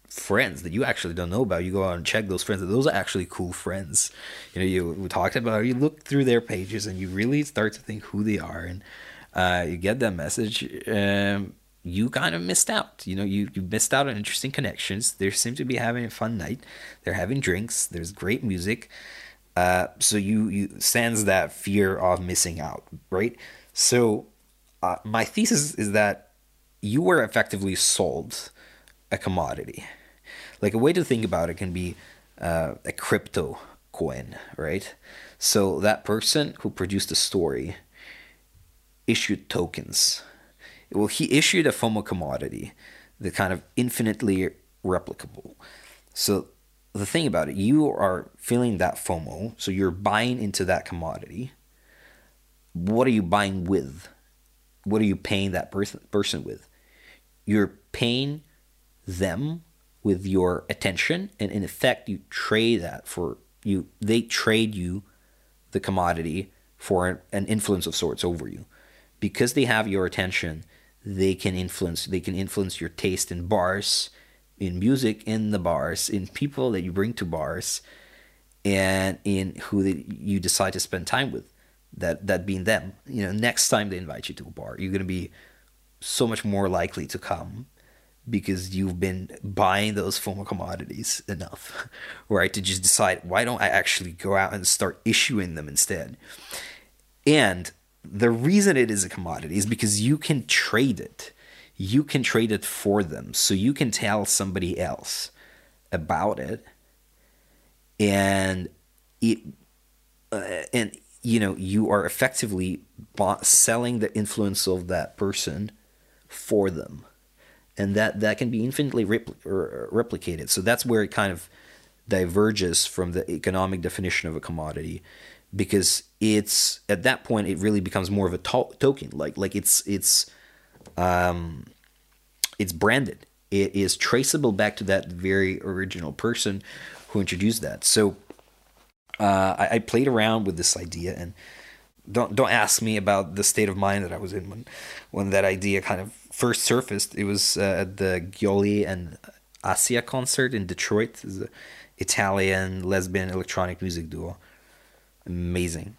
friends that you actually don't know about. You go out and check those friends, and those are actually cool friends. You know, we talked about, you look through their pages and you really start to think who they are, and you get that message. You kind of missed out. You know, you missed out on interesting connections. They seem to be having a fun night. They're having drinks. There's great music. So you sense that fear of missing out, right? So my thesis is that you were effectively sold a commodity. Like, a way to think about it can be a crypto coin, right? So that person who produced the story issued tokens. Well, he issued a FOMO commodity, the kind of infinitely replicable. So the thing about it, you are feeling that FOMO, so you're buying into that commodity. What are you buying with? What are you paying that person with? You're paying them with your attention, and in effect, you trade that for you. They trade you the commodity for an influence of sorts over you, because they have your attention. They can influence your taste in bars, in music, in the bars, in people that you bring to bars, and in who you decide to spend time with. That being them. You know, next time they invite you to a bar, you're going to be so much more likely to come, because you've been buying those FOMO commodities enough, right? To just decide, why don't I actually go out and start issuing them instead? And the reason it is a commodity is because you can trade it. You can trade it for them. So you can tell somebody else about it, and you know, you are effectively selling the influence of that person for them. And that can be infinitely replicated. So that's where it kind of diverges from the economic definition of a commodity, because it's, at that point, it really becomes more of a token. Like it's branded. It is traceable back to that very original person who introduced that. So I played around with this idea, and don't ask me about the state of mind that I was in when that idea kind of first surfaced. It was at the Gioli and Asia concert in Detroit. It's an Italian lesbian electronic music duo. Amazing.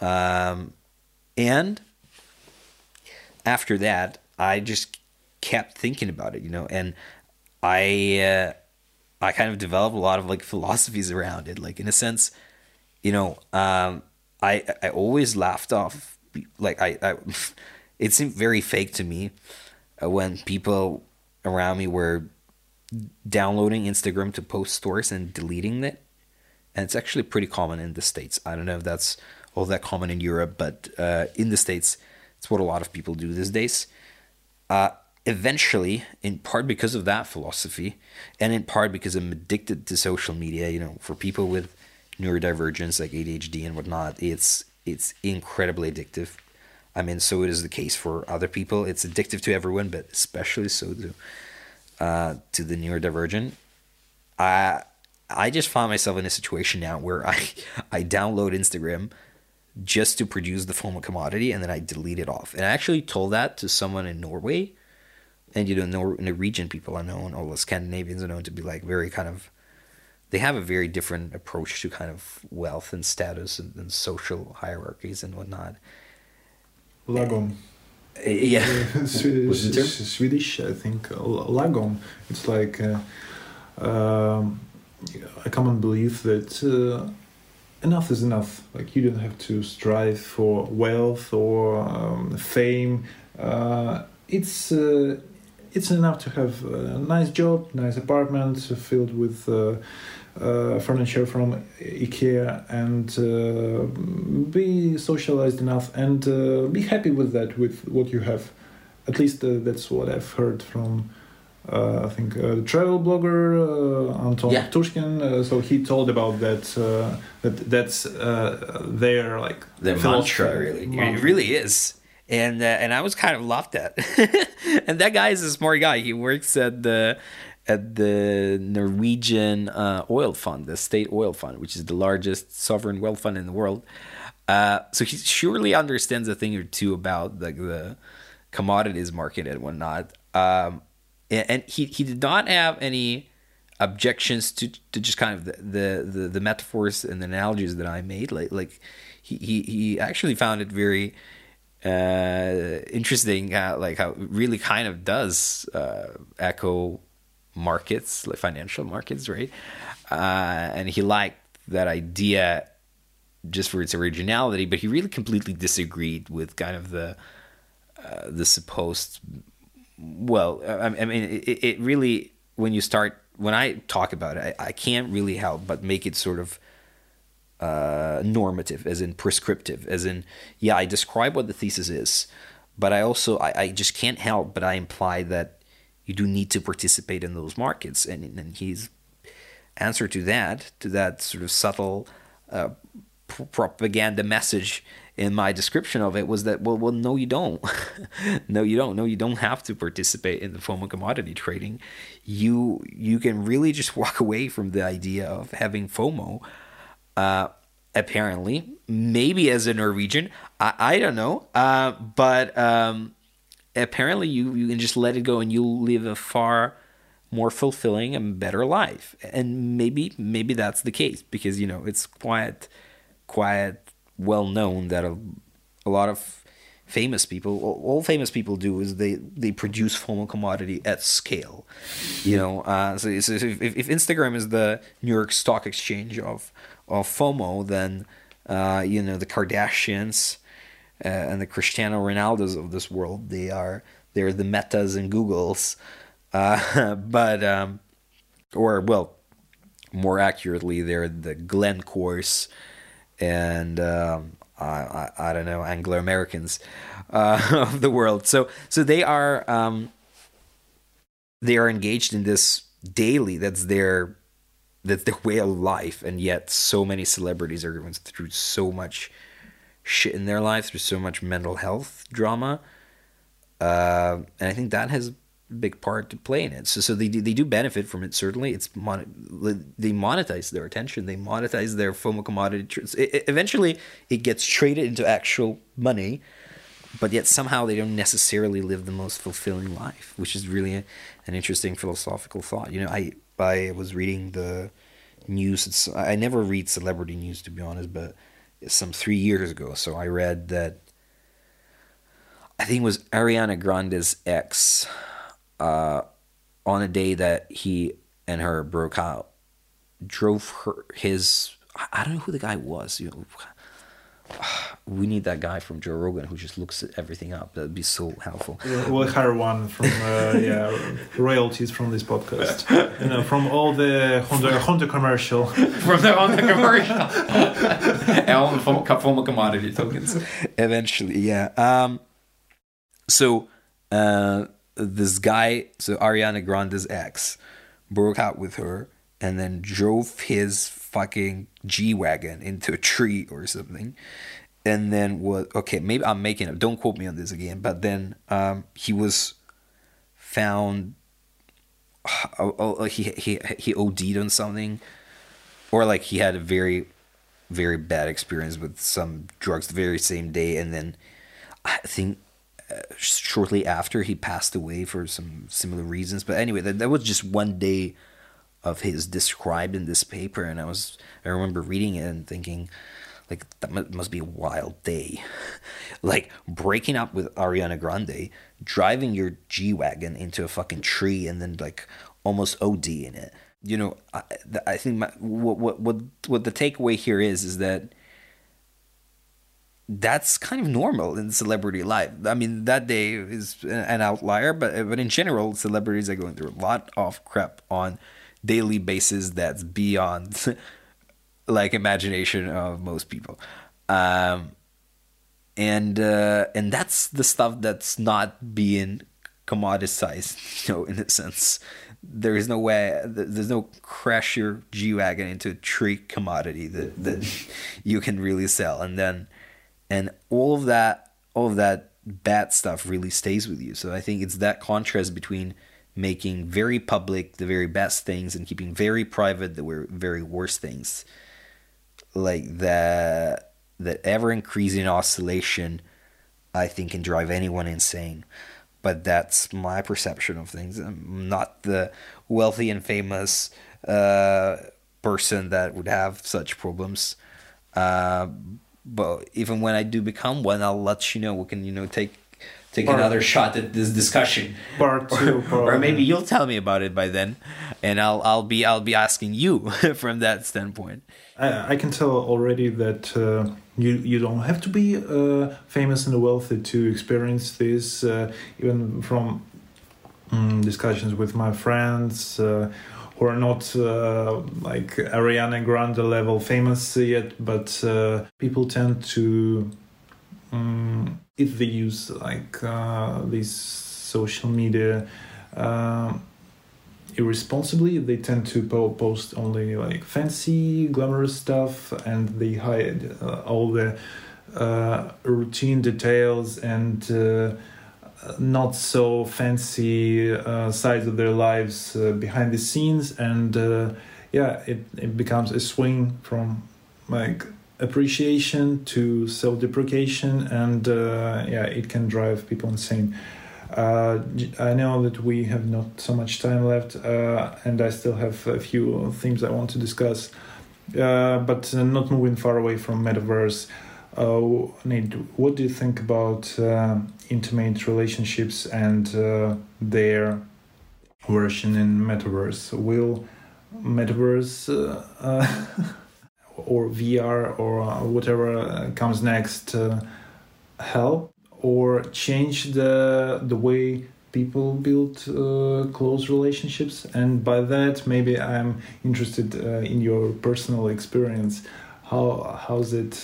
And after that, I just kept thinking about it, you know, and I kind of developed a lot of like philosophies around it. Like, in a sense, you know, I always laughed off, like I it seemed very fake to me when people around me were downloading Instagram to post stories and deleting it. And it's actually pretty common in the States. I don't know if that's all that common in Europe, but in the States, it's what a lot of people do these days. Eventually, in part because of that philosophy, and in part because I'm addicted to social media, you know, for people with neurodivergence like ADHD and whatnot, it's incredibly addictive. I mean, so it is the case for other people. It's addictive to everyone, but especially so to the neurodivergent. I just found myself in a situation now where I download Instagram just to produce the FOMO commodity, and then I delete it off. And I actually told that to someone in Norway, and you know, Norwegian people are known, all the Scandinavians are known to be like very kind of, they have a very different approach to kind of wealth and status and social hierarchies and whatnot. Lagom. Yeah. Swedish, I think. Lagom. It's like a common belief that enough is enough. Like, you don't have to strive for wealth or fame. It's enough to have a nice job, nice apartment filled with furniture from IKEA, and be socialized enough, and be happy with that, with what you have. At least that's what I've heard from I think the travel blogger Anton Tushkin. So he told about that. That's their like the mantra. Really, it really is. And I was kind of laughed at. And that guy is a smart guy. He works at the Norwegian oil fund, the state oil fund, which is the largest sovereign wealth fund in the world. So he surely understands a thing or two about like the commodities market and whatnot. And he did not have any objections to just kind of the metaphors and the analogies that I made. Like he actually found it very interesting, like how it really kind of does echo markets, like financial markets, right? And he liked that idea just for its originality, but he really completely disagreed with kind of the supposed. Well, I mean, it really, when I talk about it, I can't really help but make it sort of normative, as in prescriptive, as in, yeah, I describe what the thesis is, but I just can't help but I imply that you do need to participate in those markets, and his answer to that sort of subtle propaganda message in my description of it was that, well, no, you don't. No, you don't have to participate in the FOMO commodity trading. You can really just walk away from the idea of having FOMO. Apparently, maybe as a Norwegian, I don't know. But apparently you can just let it go and you'll live a far more fulfilling and better life. And maybe that's the case, because, it's quite well known that a lot of famous people, all famous people do is they produce FOMO commodity at scale. So if Instagram is the New York Stock Exchange of FOMO, then the Kardashians and the Cristiano Ronaldos of this world, they're the Metas and Googles, or more accurately, they're the Glencores and I don't know, Anglo Americans of the world. So they are engaged in this daily. That's their way of life, and yet so many celebrities are going through so much shit in their life, through so much mental health drama, and I think that has a big part to play in it. So they do benefit from it. Certainly, they monetize their attention, they monetize their FOMO commodity. Eventually, it gets traded into actual money, but yet somehow they don't necessarily live the most fulfilling life, which is really an interesting philosophical thought. I was reading the news. I never read celebrity news, to be honest, but some 3 years ago. So I read that, I think it was Ariana Grande's ex, on a day that he and her broke out, drove I don't know who the guy was. We need that guy from Joe Rogan who just looks at everything up. That'd be so helpful. We'll hire one from royalties from this podcast. From all the Honda commercial. From the Honda commercial. And all the FOMO commodity tokens. Eventually, yeah. This guy, Ariana Grande's ex, broke out with her and then drove his fucking G-Wagon into a tree or something. And then maybe I'm making up, don't quote me on this again, but then he was found, he OD'd on something, or like he had a very, very bad experience with some drugs the very same day, and then I think shortly after he passed away for some similar reasons. But anyway, that was just one day of his described in this paper, and I remember reading it and thinking, like, that must be a wild day. Like, breaking up with Ariana Grande, driving your G-Wagon into a fucking tree, and then, like, almost OD in it. I think what the takeaway here is that that's kind of normal in celebrity life. I mean, that day is an outlier, but in general, celebrities are going through a lot of crap on daily basis that's beyond like imagination of most people, and that's the stuff that's not being commoditized, in a sense. There is no way, there's no crash your G-Wagon into a tree commodity that you can really sell, and all of that bad stuff really stays with you. So I think it's that contrast between making very public the very best things and keeping very private the very worst things, like that ever increasing oscillation, I think, can drive anyone insane. But that's my perception of things. I'm not the wealthy and famous person that would have such problems. But even when I do become one, I'll let you know. We can, take another shot at this discussion. Part two, or maybe you'll tell me about it by then, and I'll be asking you from that standpoint. I can tell already that you don't have to be famous and wealthy to experience this. Even from discussions with my friends who are not like Ariana Grande level famous yet, but people tend to, if they use like this social media irresponsibly, they tend to post only like fancy, glamorous stuff, and they hide all the routine details and not so fancy sides of their lives behind the scenes, and it becomes a swing from like appreciation to self-deprecation, and it can drive people insane. I know that we have not so much time left, and I still have a few themes I want to discuss, but not moving far away from metaverse. Nate, what do you think about intimate relationships and their version in metaverse? Will metaverse or VR or whatever comes next help or change the way people build close relationships? And by that, maybe I'm interested in your personal experience. How's it?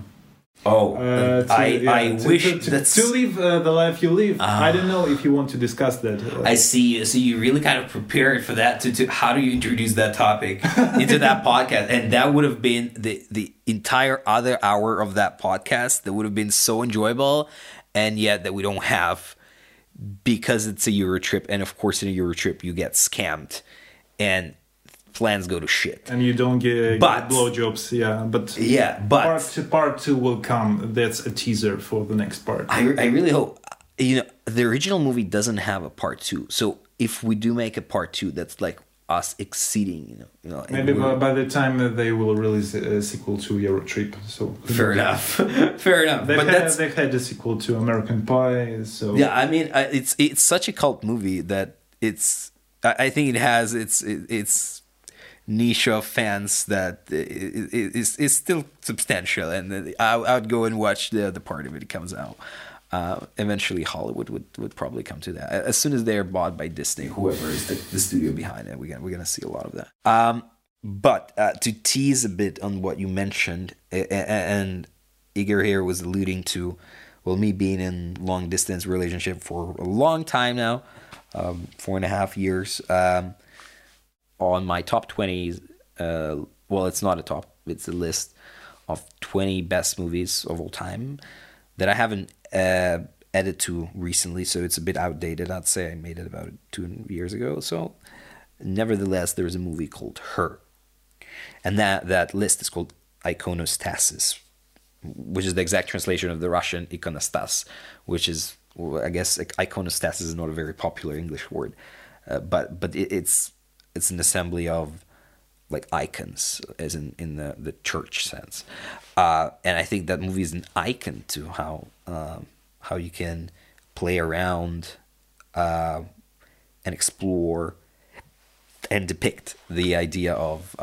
I wish to live the life you live. I don't know if you want to discuss that. I see. So you really kind of prepared for that. To how do you introduce that topic into that podcast? And that would have been the entire other hour of that podcast. That would have been so enjoyable, and yet that we don't have because it's a Euro trip. And of course, in a Euro trip, you get scammed, and plans go to shit, and you don't get blowjobs. But part two will come. That's a teaser for the next part. I really hope the original movie doesn't have a part two. So if we do make a part two, that's like us exceeding. Maybe by the time they will release a sequel to Euro Trip. So fair enough. Fair enough. They've had a sequel to American Pie. So yeah, I mean, it's such a cult movie that I think it has its niche of fans that is still substantial, and I would go and watch the part if it comes out. Eventually Hollywood would probably come to that as soon as they're bought by Disney, whoever is the studio behind it. We're gonna see a lot of that. But to tease a bit on what you mentioned, and Igor here was alluding to, well, me being in long distance relationship for a long time now, 4.5 years. On my top 20s, well, it's not a top, it's a list of 20 best movies of all time that I haven't added to recently, so it's a bit outdated. I'd say I made it about 2 years ago. So, nevertheless, there's a movie called Her, and that list is called Iconostasis, which is the exact translation of the Russian ikonastas, which is, I guess, iconostasis is not a very popular English word, but it's an assembly of like icons, as in the church sense, and I think that movie is an icon to how you can play around and explore and depict the idea of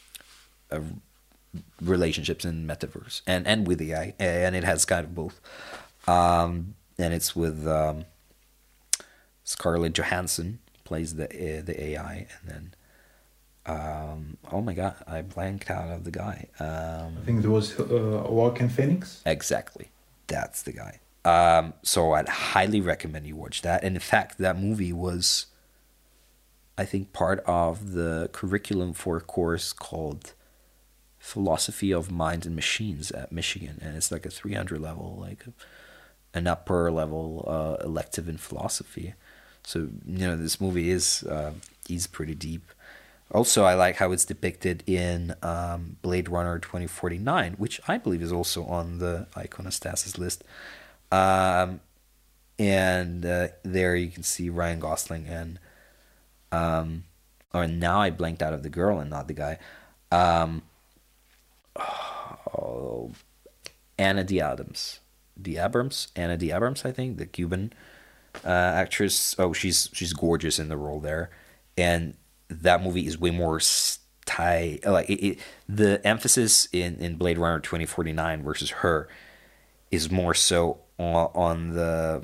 relationships in metaverse and with AI, and it has kind of both, and it's with Scarlett Johansson plays the AI, and then oh my god, I blanked out of the guy. I think there was Joaquin Phoenix. Exactly, that's the guy. So I'd highly recommend you watch that. And in fact, that movie was, I think, part of the curriculum for a course called Philosophy of Mind and Machines at Michigan, and it's like a 300 level, like an upper level elective in philosophy. So this movie is pretty deep. Also, I like how it's depicted in Blade Runner 2049, which I believe is also on the Iconostasis list. And there you can see Ryan Gosling and or now I blanked out of the girl and not the guy. Ana de Abrams. Ana de Abrams, I think, the Cuban actress. Oh, she's gorgeous in the role there, and that movie is way more the emphasis in Blade Runner 2049 versus her is more so on the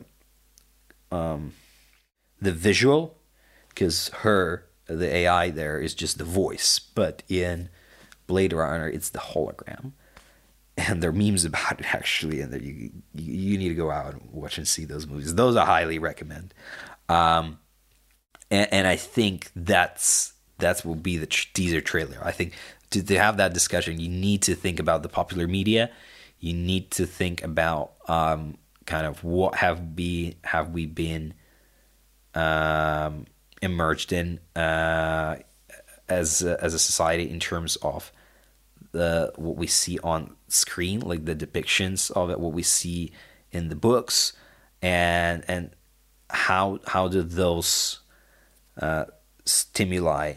visual, because the AI there is just the voice, but in Blade Runner it's the hologram, and there are memes about it actually, and you need to go out and watch and see those movies. Those I highly recommend. And I think that will be the teaser trailer. I think to have that discussion, you need to think about the popular media. You need to think about kind of what have we been emerged in as a society in terms of what we see on screen, like the depictions of it, what we see in the books, and how do those stimuli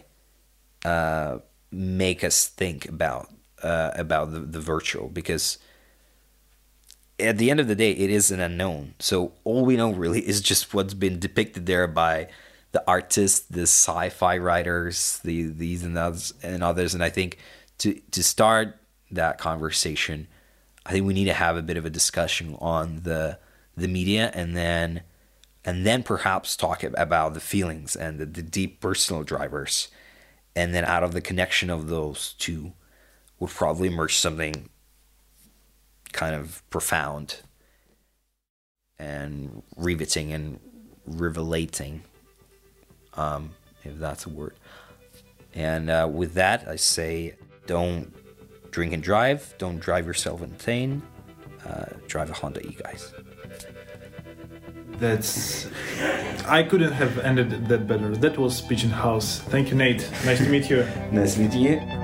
make us think about the virtual, because at the end of the day it is an unknown. So all we know really is just what's been depicted there by the artists, the sci-fi writers, these and others, and I think to start that conversation, I think we need to have a bit of a discussion on the media, and then perhaps talk about the feelings and the deep personal drivers, and then out of the connection of those two would probably emerge something kind of profound and riveting and revelating, if that's a word. And with that, I say, don't drink and drive. Don't drive yourself insane. Drive a Honda E-Guys. I couldn't have ended that better. That was Pigeon House. Thank you, Nate. Nice to meet you. Nice meeting you.